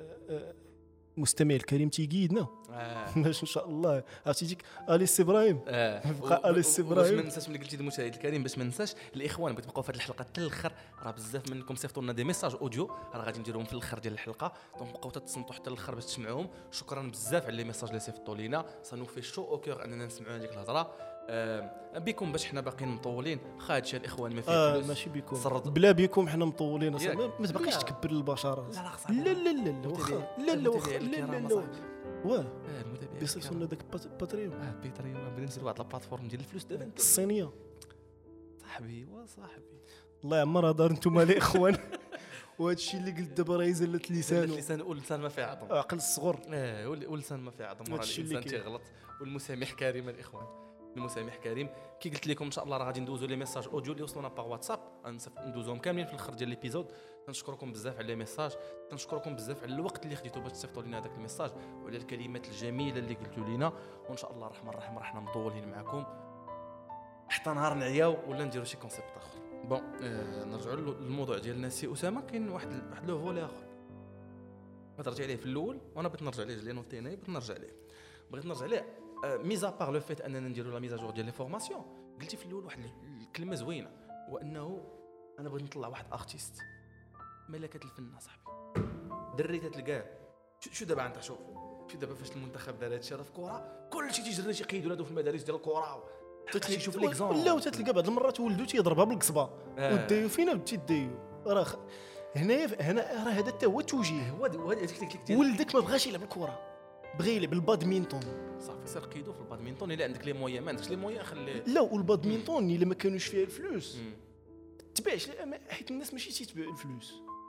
المستمع الكريم تيقيدنا باش ان شاء الله عرفتي ديك اليس ابراهيم بقى اليس ابراهيم. باش ما ننساش ملي قلتي المشاهد الكريم باش ما ننساش الاخوان بغيت تبقاو في هذه الحلقه حتى الاخر. راه بزاف منكم صيفطوا لنا دي ميساج اوديو راه غادي نديروهم في الاخر ديال الحلقه. دونك بقاو تتصنتوا حتى الاخر باش تسمعوهم. شكرا بزاف على لي ميساج اللي صيفطوا لينا صانو في شو او كور اننا نسمعوا هذيك الهضره. آه بكم باش حنا باقيين مطولين خادش الاخوان ما فيه آه فلوس ماشي بكم بلا بكم حنا مطولين اصلا ما تبقيش لا. تكبر البشره. لا لا لا لا لا واخا لا لا واخا لا لا لا واه المتابعين بيصيفطوا لنا داك باتريون اه باتريون غنبدا ندير واحد البلاتفورم ديال الفلوس دابا الصينيه صاحبي وصاحبي الله يعمرها دار نتوما الاخوان. وهذا الشيء اللي قلت دابا راه زلت لسانه لسان واللسان ما فيه عظم عقل الصغر اه واللسان ما فيه عظم راه الانسان تيغلط والمسامح كريم الاخوان. المسامح كريم كي قلت لكم ان شاء الله راه غادي ندوزو لي ميساج اوديو اللي وصلونا باغ واتساب ندوزوهم كاملين في الاخر ديال ليبيزود. كنشكركم بزاف على لي ميساج كنشكركم بزاف على الوقت اللي خديتو باش تصيفطوا لنا هذاك الميساج وعلى الكلمات الجميله اللي قلتوا لينا. وان شاء الله الرحمن الرحيم راه حنا مطولين معكم حتى نهار نعياو ولا نديروا شي كونسيبت اخر. بون آه نرجعوا للموضوع ديال سي اسامه. كاين واحد واحد لو فولي اخر بغيت نرجع عليه في الاول وانا بغيت نرجع عليه لانه تيناي بغيت نرجع عليه بغيت نرجع عليه ميزا بار لو فيت اننا نديروا لا ميزاجور ديال لي فورماسيون. قلتي في الاول واحد الكلمه زوينه وانه انا بغيت نطلع واحد ارتيست ملكه الفن صاحبي دريت تلقاه. شو دابا انت شوف شو دابا فاش المنتخب دار هادشي راه في الكره كلشي تيجري تيقيدوا هادو في المدارس ديال الكره تشوف ليكزامبل. لا وتتلقى بعض المرات ولدو تيضربها بالقصبه آه. ودايو فينا بديتي دايو راه هنايا هنا راه هذا حتى هو التوجيه. هو هذيك ولدك ما بغاش يلعب الكره بغى يلعب البادمينتون صافي سير قيدو في البادمينتون. الا عندك لي مويان ما عندكش لي مويان خليه. لا والبادمينتون الا ما كانوش فيها الفلوس تباعش حيت الناس ماشي تيتباع الفلوس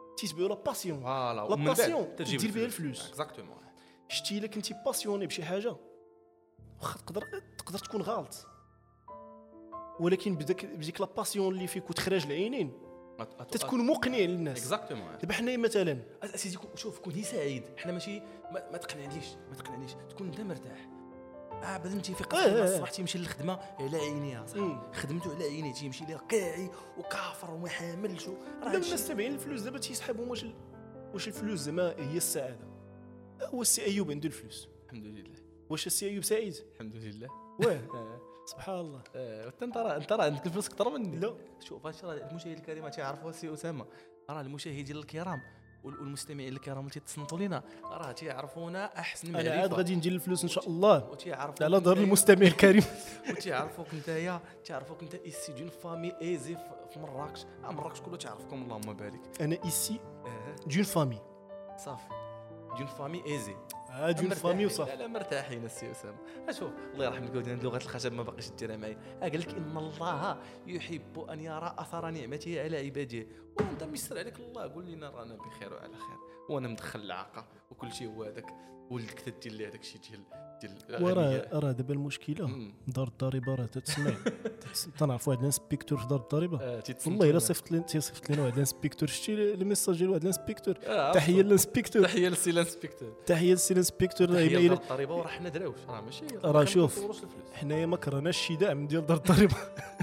تيتبعوا لا باسيون فوالا لا باسيون تدير بها الفلوس اكزاكتومون. شتي الا كنتي باسيوني بشي حاجه واخا تقدر تقدر تكون غلط، ولكن بداك بديك لا باسيون اللي فيك وتخرج العينين تتكون مقنع للناس. اكزاكتومون. دابا حنايا مثلا اسيدي شوف كون سعيد، حنا ماشي ما, ما تقنعنيش ما تقنعنيش تكون انت مرتاح. اه بعد انت في قصه الصباح تيمشي للخدمه على عينيها صح، خدمته على عينيه تيمشي ليها كاعي وكافر وما حاملش. راه الناس تابعين الفلوس دابا تيسحبهم. واش واش الفلوس زعما هي السعاده؟ هو السي ايوب عنده الفلوس الحمد لله. واش السي ايوب سعيد؟ الحمد لله. واه سبحان الله. انت ترى انت راه عندك الفلوس اكثر مني. لا شوف هادشي راه المشاهدين الكرام تيعرفوا السي اسامه، راه المشاهدين الكرام والمستمعين الكرام اللي تيتصنتوا لينا راه تيعرفونا احسن معرفه. انا عاد غادي ندير الفلوس ان شاء الله وتيعرفوا على ظهر المستمع الكريم. وتيعرفوك نتايا تعرفوك انت ايسي دون فامي ايزي في مراكش. اه مراكش كله تعرفكم اللهم بارك. انا ايسي دون فامي صافي دون فامي ايزي اه دون فامي وصافي. لا لا مرتاحين السي اسامه. اشوف الله يرحم الكودين لغه الخشب ما باقيش ديرها معايا. قال لك ان الله يحب ان يرى اثر نعمته على عباده، وانت ميسر عليك الله قول لنا رانا بخير وعلى خير، وانا مدخل العاقه وكل شيء هو هذاك ولدك تدير لي هذاك الشيء ديال ديال وراه راه دابا المشكله دار الضريبه راه تتسمع تنعرفوا واحد الانسبيكتور في دار الضريبه. آه والله الا صيفط لنا تصيفط لنا واحد الانسبيكتور. شتي الميساج ديال واحد الانسبيكتور آه تحيه للانسبيكتور تحيه للسي الانسبيكتور تحيه للسي الانسبيكتور. تحيه لدار الضريبه وراه حنا دراوش راه ماشي راه شوف حنايا ما كرهناش شي دعم ديال دار الضريبه.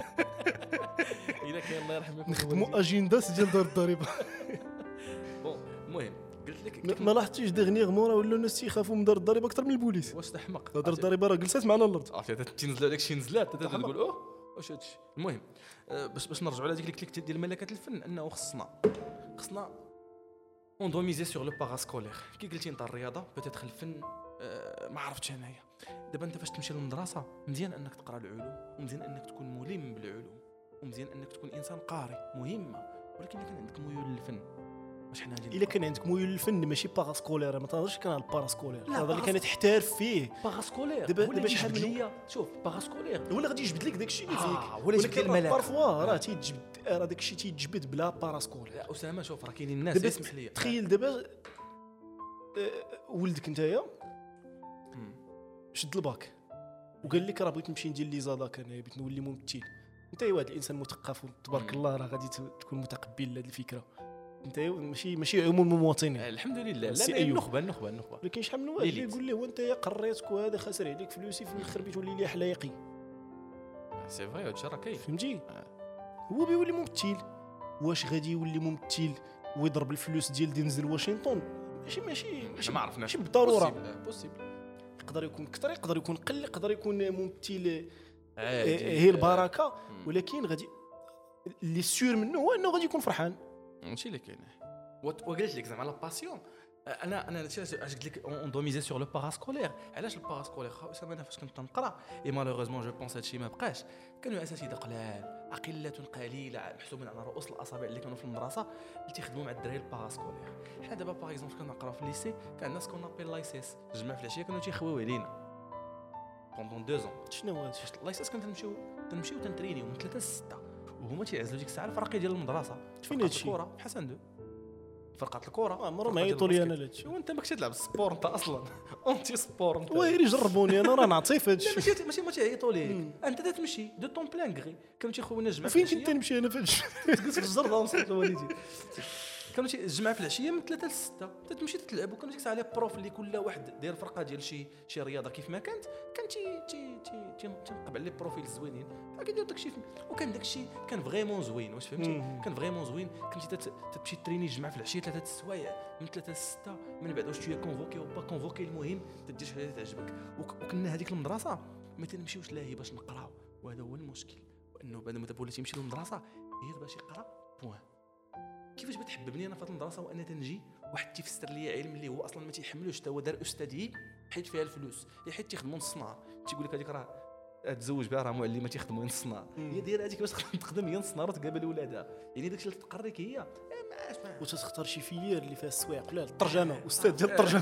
الا كاين الله يرحمك نخدموا اجندات ديال دار الضريبه. بون المهم قلت لك ما لاحظتيش دغنيغمون راه ولاو الناس تيخافوا من دار الضريبه اكثر من البوليس. واش تحمق دار الضريبه راه جلسات معنا الارض عرفتي تنزلوا داك الشيء نزلات تقول اوه واش هادشي. المهم باش باش نرجعوا على ديك الكليك ديال ملكات الفن، انه خصنا خصنا اون دو ميزي سور لو باراسكولير. كي قلتي انت الرياضه بوتيتر الفن أه ما عرفتش انايا. دابا انت فاش تمشي للمدرسه مزيان انك تقرا العلوم، ومزيان انك تكون ملم بالعلوم، ومزيان انك تكون انسان قارئ مهمه، ولكن الا كان عندك ميول للفن واش حنا غادي الا كان عندك ميول للفن ماشي باراسكولير. ما تهضرش كان على الباراسكولير هذا اللي كان تحترف فيه باراسكولير. دابا دابا شحال من شوف باراسكولير ولا غادي يجبد لك داكشي اللي فيك آه ولكن بارفوا راه تيتجبد راه داكشي تيتجبد بلا باراسكولير. يا اسامه شوف راه كاينين الناس اسمح لي تخيل دابا ولدك نتايا شد الباك وقال لك راه بغيت نمشي ندير لي زاداك انا بغيت نولي ممثل. انت واحد الانسان مثقف تبارك الله راه غادي تكون متقبل لهذه الفكره. انت ماشي ماشي عموم المواطنين الحمد لله. لا النخبه النخبه النخبه ولكن شحال من واحد يقول لي وانت قريتك وهذا خسر عليك فلوسي في الاخر بتولي لي حلايقي. سي فري هادشي راه كاين فهمتي. هو بيولي ممثل. واش غادي يولي ممثل ويضرب الفلوس ديال دينزل واشنطن؟ ماشي ماشي ماشي ما عرفناش ماشي بالضروره بوسيبل. يقدر يكون كثر يقدر يكون قل يقدر يكون ممثل هي البركه، ولكن غادي اللي سيور منه هو انه غادي يكون فرحان. هادشي اللي كاين. وقلت لك زعما لا باسيون انا انا اش قلت لك اون دو ميزي سور لو باراسكولير. علاش الباراسكولير اسامه انا فاش كنت تنقرا اي مالوغوزمون جو بونس هادشي ما بقاش. كانوا اساتذه قلال اقله قليله محسوبين على رؤوس الاصابع اللي كانوا في المدرسه اللي تيخدموا مع الدراري الباراسكولير. حنا دابا باغ اكزومبل كنا نقراو في الليسي كان الناس كنا نابيل لايسيس الجماعه في العشيه كانوا تيخويو علينا بوندون دو زون. شنو هذا لايسيس كنا تنمشيو تنمشيو تنترينيو من ثلاثة ل ستة وهما تيعزلوا ديك الساعه الفرقي ديال المدرسه. فين هادشي الكره بحسن دو فرقات الكره عمرو ما يعيطوا لي انا لهادشي. وانت ماكش تلعب السبور انت اصلا اونتي سبور انت. ويلي جربوني انا راه نعطي في هادشي. ماشي ماشي ما تيعيطوا ليك انت تمشي دو طون بلان غري. كانوا تيخويونا الجماعه فين كنت نمشي انا في هادشي تجلس في الجرده ونصيفط لوالدي. كانوا الجماعه في العشيه من ثلاثة ل ستة تمشي تلعب. وكانوا ديك الساعه على بروف اللي كل واحد داير فرقه ديال شي شي رياضه كيف ما كانت كان تي تي تي تنقب على لي بروفيل زوينين كيدير داكشي. وكان داكشي كان فريمون زوين واش فهمتي. كان فريمون زوين. كنتي تمشي تريني الجماعه في العشيه ثلاثه السوايع من ثلاثة ل ستة من بعد واش تي كونفوكي او با كونفوكي المهم تدير شي حاجه تعجبك. وكنا هذيك المدرسه ما تنمشيوش لاهي باش نقراو وهذا هو المشكل. وانه بعد ما دابا وليتي يمشي للمدرسه غير باش يقرا بوان. كيفاش بتحببني انا في هذه المدرسه وانا تنجي واحد تيفسر لي علم اللي هو اصلا ما تيحملوش حتى هو دار استاذي حيت فيها الفلوس حيت تيخدموا نص نهار. تيقول لك هذيك راه تزوج بها راه معلمه تيخدموا نص نهار. هي دايره هذيك باش تخدم هي نص نهار وتقابل ولادها. يعني داكشي اللي تقريك هي وتختار شي فيير اللي فيها السوايق لا الترجمه استاذ ديال الترجمه.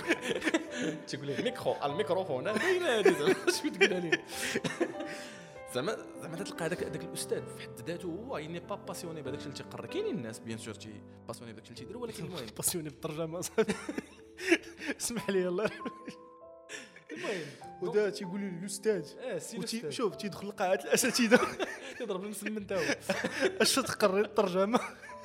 تيقول لي الميكرو الميكروفون باينه هذه زعما اش بتقولها لي زعما زعما تلقى هذاك هذاك الاستاذ في حد ذاته هو يني با باسيوني بهذاك الشيء اللي تيقرا. كاينين الناس بيان سور تي باسيوني بداك الشيء اللي تيديروا، ولكن المهم باسيوني بالترجمه صافي. اسمح لي الله. المهم ودا تيقول لي الاستاذ اه سي وتي شوف تيدخل لقاعه الاساتذه تضرب المسلم انت هو اش تقري الترجمه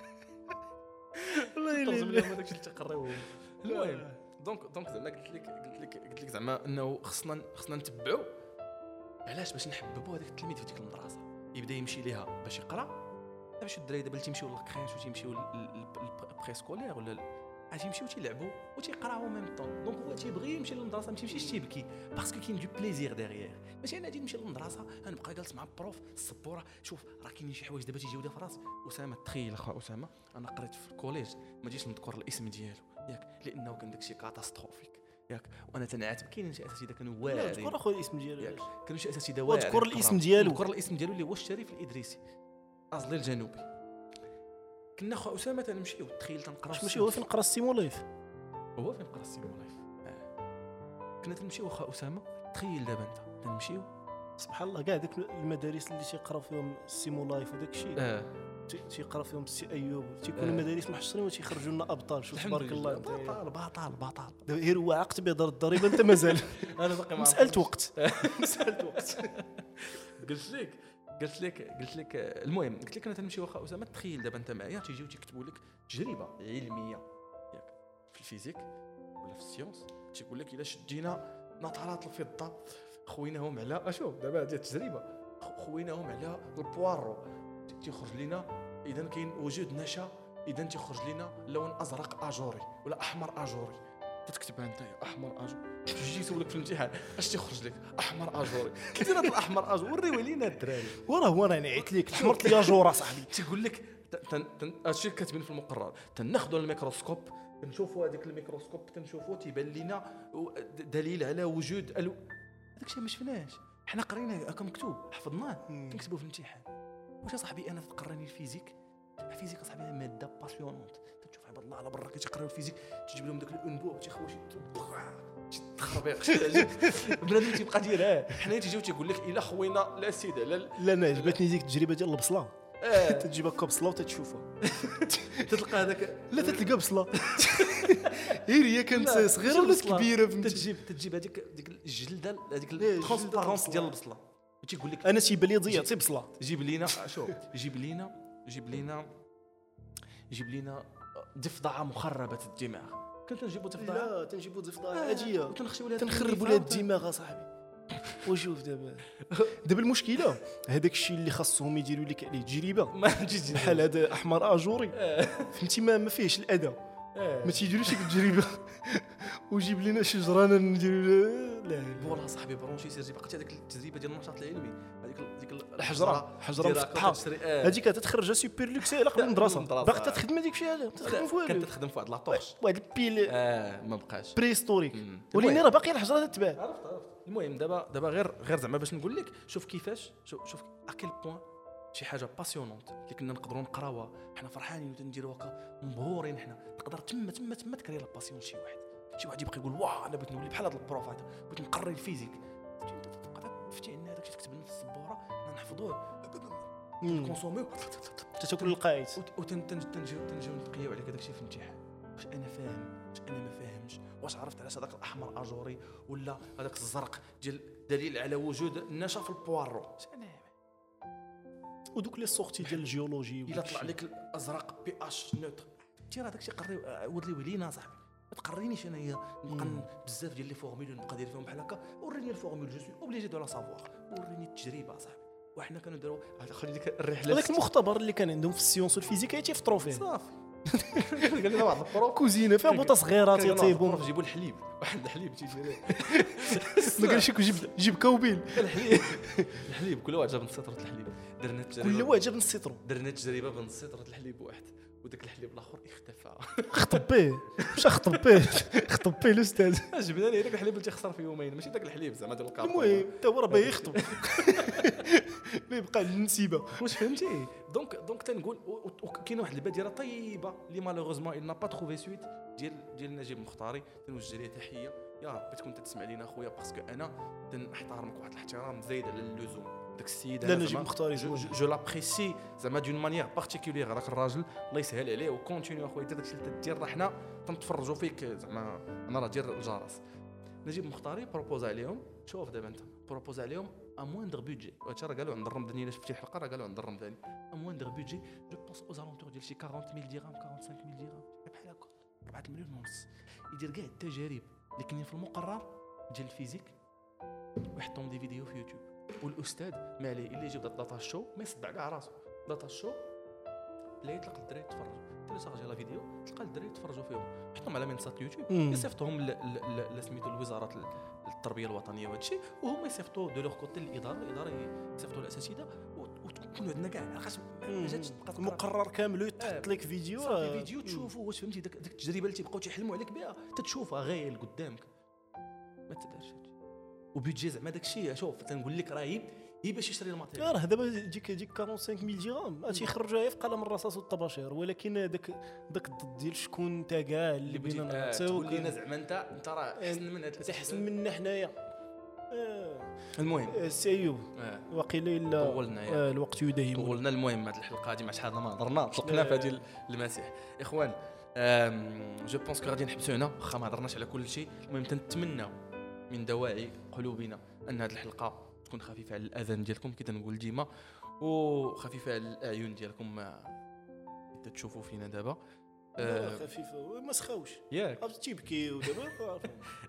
والله ترجم الا لهم هذاك الشيء اللي تيقراوه. المهم دونك دونك زعما قلت لك قلت لك قلت لك زعما انه خصنا خصنا نتبعوا علاش باش نحببوا هذاك التلميذ في ديك المدرسه يبدا يمشي ليها باش يقرا. باش الدراري دابا اللي تيمشيو للكريش وتيمشيو للبريسكولير ولا عاد يمشيو تيلعبوا وتيقراو ميم طون. دونك هو تيبغي يمشي للمدرسه، ما تيمشيش تيبكي باسكو كاين دو بليزير ديغيير. ماشي انا غادي نمشي للمدرسه غنبقى جالس مع البروف السبوره. شوف راه كاينين شي حوايج دابا تيجيو لي في راسي. اسامه تخيل اخا اسامه انا قريت في الكوليج ما جيتش نذكر الاسم ديالو ياك لانه كان داكشي كاتاستروفيك ياك، وانا تنعاتب. كاينين شي اساتذه كانوا واعرين. ذكر اخويا الاسم ديالو ياك كانوا شي اساتذه واعرين. وذكر الاسم ديالو ذكر الاسم ديالو اللي هو الشريف الادريسي ازلي الجنوبي. كنا خو اسامه تنمشيو تخيل تنقراو. ماشي هو فين قرا السيمولايف؟ هو فين قرا السيمولايف. آه. كنا تنمشيو اخا اسامه تخيل دابا انت تنمشيو سبحان الله كاع داك المدارس اللي تيقراو فيهم السيمولايف وداك الشيء اه تيقرا فيهم السي ايوب تيكونوا المدارس محشرين وتيخرجوا لنا ابطال. شوف تبارك الله انت بطل بطل بطل. دابا غير هو عقد بيضر الضريبه انت مازال. انا باقي ما مساله وقت مساله وقت. قلت لك قلت لك قلت لك المهم قلت لك انا تنمشي واخا اسامه تخيل دابا انت معايا تيجيو تيكتبوا لك تجربه علميه ياك في الفيزيك ولا في السيونس. تيقول لك الا شدينا نطرات الفضه خويناهم على اشوف دابا هذه التجربه خويناهم على البوارو تيخرج لنا اذا كاين وجود نشا اذا تيخرج لنا لون ازرق اجوري ولا احمر اجوري. تكتبها انت احمر اجوري. تجي يسولك في الامتحان اش تيخرج لك احمر اجوري. كيدير هذا الاحمر اجوري وريوه لينا الدراري. وراه هو انا نعيط لك احمر لي جوره صاحبي. تيقول لك هادشي كاتبين في المقرر تناخذوا الميكروسكوب نشوفوا هذاك الميكروسكوب تنشوفوا تيبان لنا دليل على وجود الو. هذاك الشيء ما شفناش حنا قريناه هكا مكتوب حفظناه كنكتبوه في الامتحان. واش صاحبي انا تقراني الفيزيك الفيزيك صاحبي ماده باسيونونت. تشوف عباد الله على برا كيتقراو الفيزيك تجيب لهم داك الانبوب تيخوي شي تخربيق شي بنادم تيبقى دايرها. حنا تيجيو تيقول لك الا خوينا لا سيده لا لا انا عجبتني ديك التجربه ديال البصله. اه تجيب هكا بصله وتتشوفها تلقى هذاك لا تلقى بصله غير هي كانت صغيره ولا كبيره فهمتي. تجيب تجيب هذيك ديك الجلده هذيك الترانسبارونس ديال البصله تيقول لك انا تيبان لي ضيعتي بصله. جيب لينا شوف جيب لينا جيب لينا جيب لينا ضفدعه مخربه الدماغ. كنت نجيبوا ضفدعه لا تنجيبوا ضفدعه عاديه وتنخشيو لها تنخربوا لها الدماغ صاحبي. وشوف دابا دابا المشكله هذاك الشيء اللي خاصهم يديروا لك عليه تجربه ما تجيش بحال هذا احمر اجوري فهمتي ما ما فيهش الاذى ما تيديروش ديك التجربه وجيب لنا شجره نديروا لا والله صاحبي برونشي سير باقي هذيك التجربه ديال النشاط العلمي هذيك ديك الحجره حجره مفتحه هذيك كتخرج سوبر لوكس على قبل المدرسه باقي تخدم هذيك الشيء تخدم في والو كانت تخدم في واحد لاطوش واحد البيل اه ما بقاش بريستوريك وليني راه باقي الحجره تتباع. عرفت عرفت. المهم دابا دابا غير غير زعما باش نقول لك شوف كيفاش شوف شوف اكيل بوين شي حاجه باسيونونت اللي كنا نقدروا نقراوها حنا فرحانين ونديروا هكا مبهورين. حنا تقدر تما تما تما تكري لا باسيون شي واحد شي واحد يبقى يقول واه انا بغيت نولي بحال هذا البروف هذا بغيت نقري الفيزيك تبقى تفتي عندنا هذاك تكتب لنا في السبوره حنا نحفظوه كونسوميو تاكل القايد وتنجيو تنجيو نقياو عليك هذاك الشيء في الامتحان. واش انا فاهم واش انا ما فاهمش واش عرفت علاش هذاك الاحمر اجوري ولا هذاك الزرق ديال دليل على وجود النشا في البوارو. انا ودوك لي سورتي ديال الجيولوجي الا طلع لك الازرق بي اش نوتر تي راه داكشي قري عاود لي ولينا صاحبي ما تقرينيش انايا نبقى بزاف ديال لي فورمول نبقى داير فيهم بحال هكا. وريني الفورمول جو سوي اوبليجي دو لا سافوار وريني التجربه صاحبي. وحنا كانوا نديروا خلي ديك الرحله هذاك المختبر اللي كان عندهم في السيونس والفيزيك تيفطروا فيه صافي. قال لنا واحد البروف كوزينه فيها بوطه صغيره تيطيبوا جيبوا الحليب واحد الحليب تيجي ما قالش لك جيب جيب كوبيل الحليب الحليب كل واحد جاب نص سطره الحليب درنا التجربه كل واحد جاب نص سيترو درنا التجربه بنص سطره الحليب واحد وداك الحليب الاخر اختفى. خطب به واش خطب به خطب به الاستاذ جبنا ليه داك الحليب اللي تيخسر في يومين ماشي داك الحليب زعما ديال الكارطون. المهم حتى هو راه باغي يخطب ما يبقى النسيبه واش فهمتي. دونك دونك تنقول كاينه واحد البادره طيبه اللي مالوغوزمون il n'a pas trouvé suite ديال ديال نجيب مختاري تنوجه ليه تحيه يا ربي تكون تسمع لينا اخويا باسكو انا تنحترمك واحد الاحترام زايد على اللزوم داك السيد لا نجيب مختار جو, جو لابريسي زعما دون مانيير بارتيكولير. هذاك الراجل الله يسهل عليه وكونتينيو اخويا دير داكشي اللي تدير. راه حنا تنتفرجوا فيك زعما انا راه دير الجرس. نجيب مختاري بروبوز عليهم. شوف دابا انت بروبوز عليهم ا موندر بودجي. وهادشي راه قالوا عند الرمضاني الا شفتي الحلقه راه قالوا عند الرمضاني ا موندر بودجي جو بونس او زالونتور ديال شي أربعين ميل درهم خمسة وأربعين ميل درهم بحال هكا أربعة مليون ونص. يدير كاع التجارب اللي كاينين في المقرر ديال الفيزيك ويحطهم دي فيديو في يوتيوب. والاستاذ ما عليه الا يجيب داتا شو ما يصدع كاع راسو. داتا شو لا يطلق الدراري يتفرجوا تيليشارجي لا فيديو تلقى الدراري يتفرجوا فيهم يحطهم على منصات يوتيوب يصيفطوهم لسميتو الوزاره التربيه الوطنيه وهادشي وهما يصيفطوا دو لوغ كوتي الاداره الاداره يصيفطوا الاساتذه وتكون عندنا كاع لاخاطش ما جاتش تبقى المقرر كامل يتحط لك فيديو صافي فيديو تشوفوا واش فهمتي داك التجربه اللي تيبقاو تيحلموا عليك بها تتشوفها غير قدامك ما تدارش هادشي. وبيدجي زعما داكشي شوف تنقول لك راه هي هي باش يشري الماتيريال. راه دابا ديك ديك خمسة وأربعين ميل درهم غادي يخرجها في قلم الرصاص والطباشير. ولكن داك داك الضد ديال شكون انت كاع اللي بينا نعطيوك تقول لينا زعما انت انت راه احسن من هذا احسن منا حنايا. المهم السي ايوب واقيلا الا طولنا آه الوقت يداهم طولنا. المهم هذه الحلقه هذه مع شحال ما هضرنا طلقنا في هذه المسيح اخوان. جو بونس كو غادي نحبسوا هنا واخا ما هضرناش على كل شيء. المهم تنتمناو من دواعي قلوبنا ان هذه الحلقه تكون خفيفه على الاذان ديالكم كي تنقول ديما وخفيفه على الاعين ديالكم ما تشوفوا فينا دابا. آه خفيفه ما سخاوش ياك تيبكي ودابا.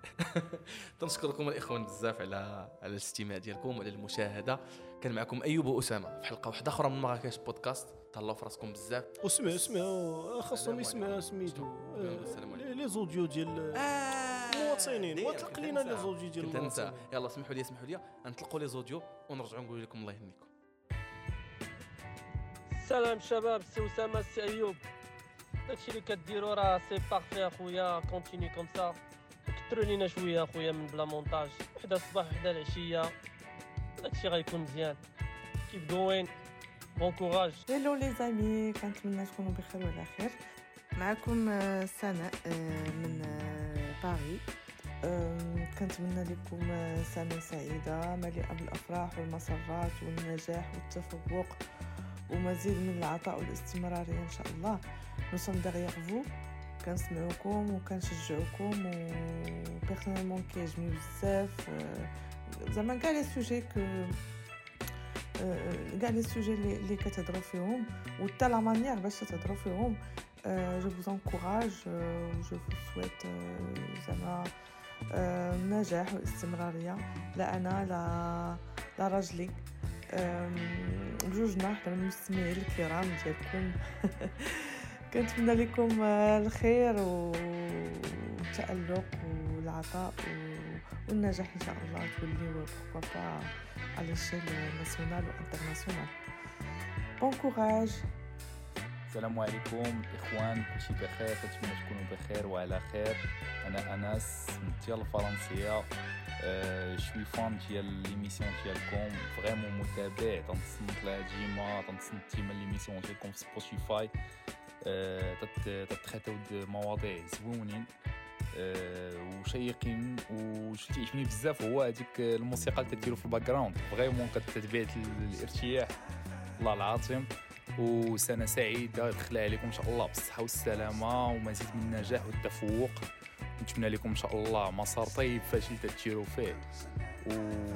تنشكركم الاخوان بزاف على على الاستماع ديالكم وعلى المشاهده. كان معكم ايوب واسامه في حلقه واحده اخرى من مراكش بودكاست. تهلاو في راسكم بزاف وسمع سمع خاصهم يسمع سميتو لي زوديو ديال المواطنين وطلق لينا لي زوديو ديال المواطنين. يلا سمحوا لي سمحوا لي نطلقوا لي زوديو ونرجعوا نقول لكم الله يهنيكم. سلام شباب سي اسامه سي ايوب. داكشي اللي كديروا راه سي بارفي اخويا كونتيني كوم سا. كثروا لينا شويه اخويا من بلا مونتاج وحده الصباح وحده العشيه داكشي غيكون مزيان. كيف جوين بون كوراج. هلو لي زامي كنتمنى تكونوا بخير وعلى خير. معكم سناء من باريس. كنتمنى لكم سنه سعيده مليئه بالافراح والمسرات والنجاح والتفوق ومزيد من العطاء والاستمراريه ان شاء الله. nous sommes derrière vous كنسمعوكم وكنشجعوكم و بيرسونيلمون كيعجبني بزاف زعما كاع لي سوجي كو كاع لي سوجي اللي كتهضروا فيهم وحتى لا مانيير باش تهضروا فيهم. جو vous encourage je vous souhaite زعما نجاح واستمراريه لا انا لا لا راجلي بجوجنا حتى من المستمعين الكرام ديالكم. كنتمنى لكم الخير والتألق والعطاء والنجاح ان شاء الله توليو بوركوا با على الشيل ناسيونال وانترناسيونال. بون كوراج. السلام عليكم اخوان كلشي بخير كنتمنى تكونوا بخير وعلى خير. انا انس من ديال الفرنسيه. أه شوي فان ديال ليميسيون ديالكم فريمون متابع تنتصنت لها ديما تنتصنت ديما ليميسيون ديالكم في سبوتيفاي. أه تتخاتاو مواضيع زوينين أه وشيقين وشي تعجبني بزاف هو هذيك الموسيقى اللي كديروا في الباك جراوند فريمون كتبعث الارتياح الله العظيم. وسنه سعيده يدخلها عليكم ان شاء الله بالصحه والسلامه ومزيد من النجاح والتفوق. نتمنى لكم ان شاء الله مسار طيب فاش تديروا فيه. و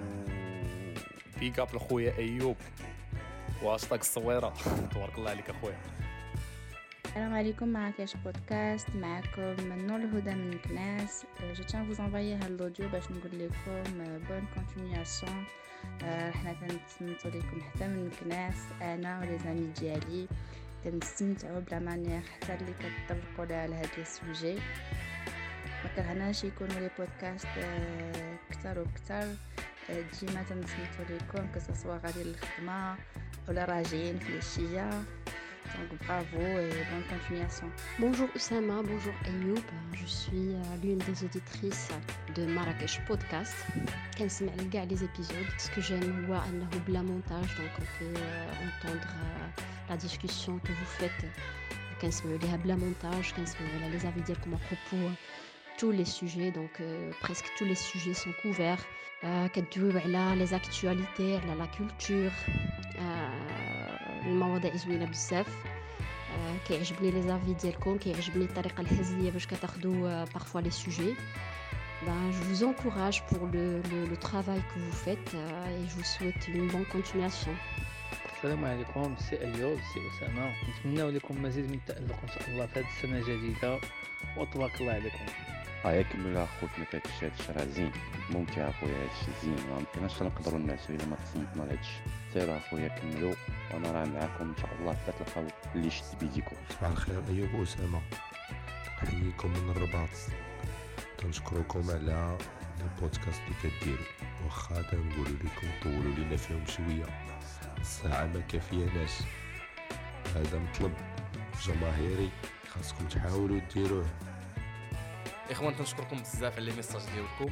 بيك اب لخويا ايوب واشطاق الصويره. تبارك الله عليك اخويا. السلام عليكم مراكش بودكاست معكم نور الهدى من كناس. جو تان فوز انفايي هاد الاوديو باش نقول لكم بون كونتينياسيون. حنا كنتسنتو لكم حتى من كناس انا ولي زامي ديالي كنستمتعوا بلا مانيير حتى اللي كتطرقوا لها على هاد لي سوجي. ما كرهناش يكونوا لي بودكاست كثر وكثر ديما تنسمتو لكم كسوا غادي للخدمه ولا راجعين في العشيه. Donc bravo et bonne continuation. Bonjour Oussama, bonjour Ayoub. Je suis l'une des auditrices de Marrakech Podcast. كنسمع كاع les épisodes. Ce que j'aime هو انه بلا montage donc on peut entendre la discussion que vous faites. كنسمعوا ليها بلا montage كنسمعوا على les avis ديالكم à propos tous les sujets, donc euh, presque tous les sujets sont couverts. آه، كتدويو على les actualités, على la culture. آه، المواضيع زوينة بزاف. آه، كيعجبني لي زافي ديالكم، كيعجبني الطريقة الهزلية باش كتاخدوا آه، parfois les sujets. Ben, je vous encourage pour le, le, le travail que vous faites euh, et je vous souhaite une bonne continuation. السلام عليكم، سي ايوب، سي اسامه. نتمنى لكم مزيد من التالق ان شاء الله في هذه السنه الجديده، وتبارك الله عليكم. هيا كمل خوتنا في هادشي، هادشي راه زين ممتع اخويا، هادشي زين ما يمكنناش نقدروا نعسوا الا ما تصنتنا لهادشي. سير اخويا كملوا وانا راه معاكم ان شاء الله حتى تلقاو اللي شد بيديكم. صباح الخير ايوب واسامه، نحييكم من الرباط، كنشكركم على البودكاست اللي كديروا، واخا تنقولوا لكم طولوا لينا فيهم شويه، الساعه ما كافياناش، هذا مطلب جماهيري خاصكم تحاولوا ديروه. اخوان تنشكركم بزاف على لي ميساج ديالكم.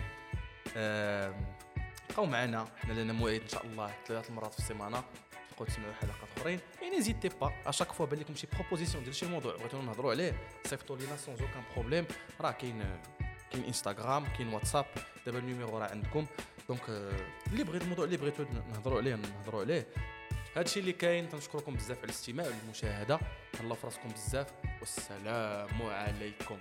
بقاو معنا، حنا لنا موعد ان شاء الله ثلاث مرات في السيمانه، تبقاو تسمعوا حلقات اخرين. يعني نزيدتي با اشاك فوا بان لكم شي بروبوزيسيون ديال شي موضوع بغيتونا نهضروا عليه، صيفطوا لينا سون اوكان بروبليم. راه كاين كاين انستغرام، كاين واتساب، دابا النيميرو راه عندكم. دونك اللي بغيت الموضوع اللي بغيتو نهضروا عليه نهضروا عليه. هادشي اللي كاين. تنشكركم بزاف على الاستماع والمشاهده. الله في راسكم بزاف، والسلام عليكم.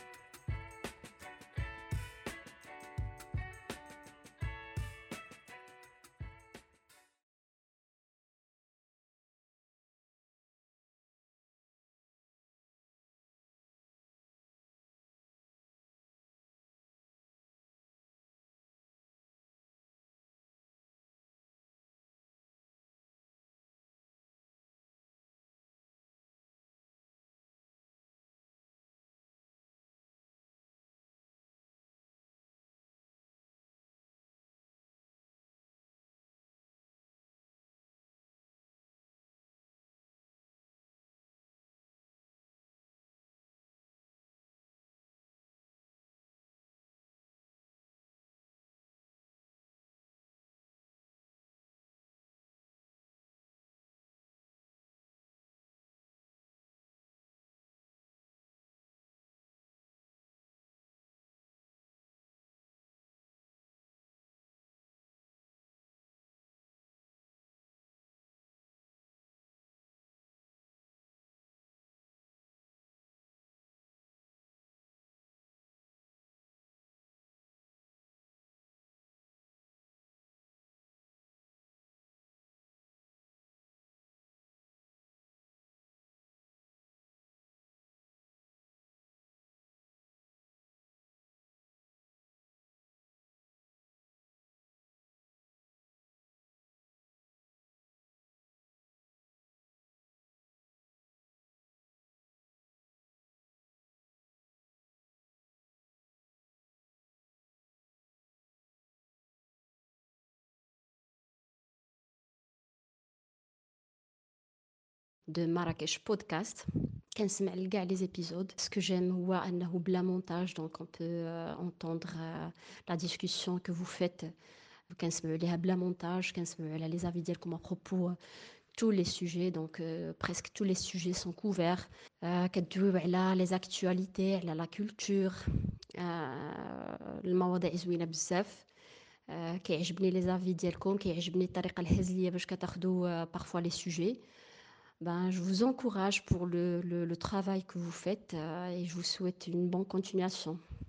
De Marrakech Podcast. كنسمع لكاع لي زيبيزود. Ce que j'aime هو انه بلا مونتاج، donc on peut euh, entendre euh, la discussion que vous faites. كنسمعوا ليها بلا مونتاج، كنسمعوا على لي زافي ديالكم à propos tous les sujets, donc euh, presque tous les sujets sont couverts. euh, كتدويو على les actualités, على la culture. euh, المواضيع زوينة بزاف. euh, كيعجبني لي زافي ديالكم، كيعجبني الطريقة الهزلية باش كتاخدوا euh, parfois les sujets. Ben, je vous encourage pour le, le, le travail que vous faites euh, et je vous souhaite une bonne continuation.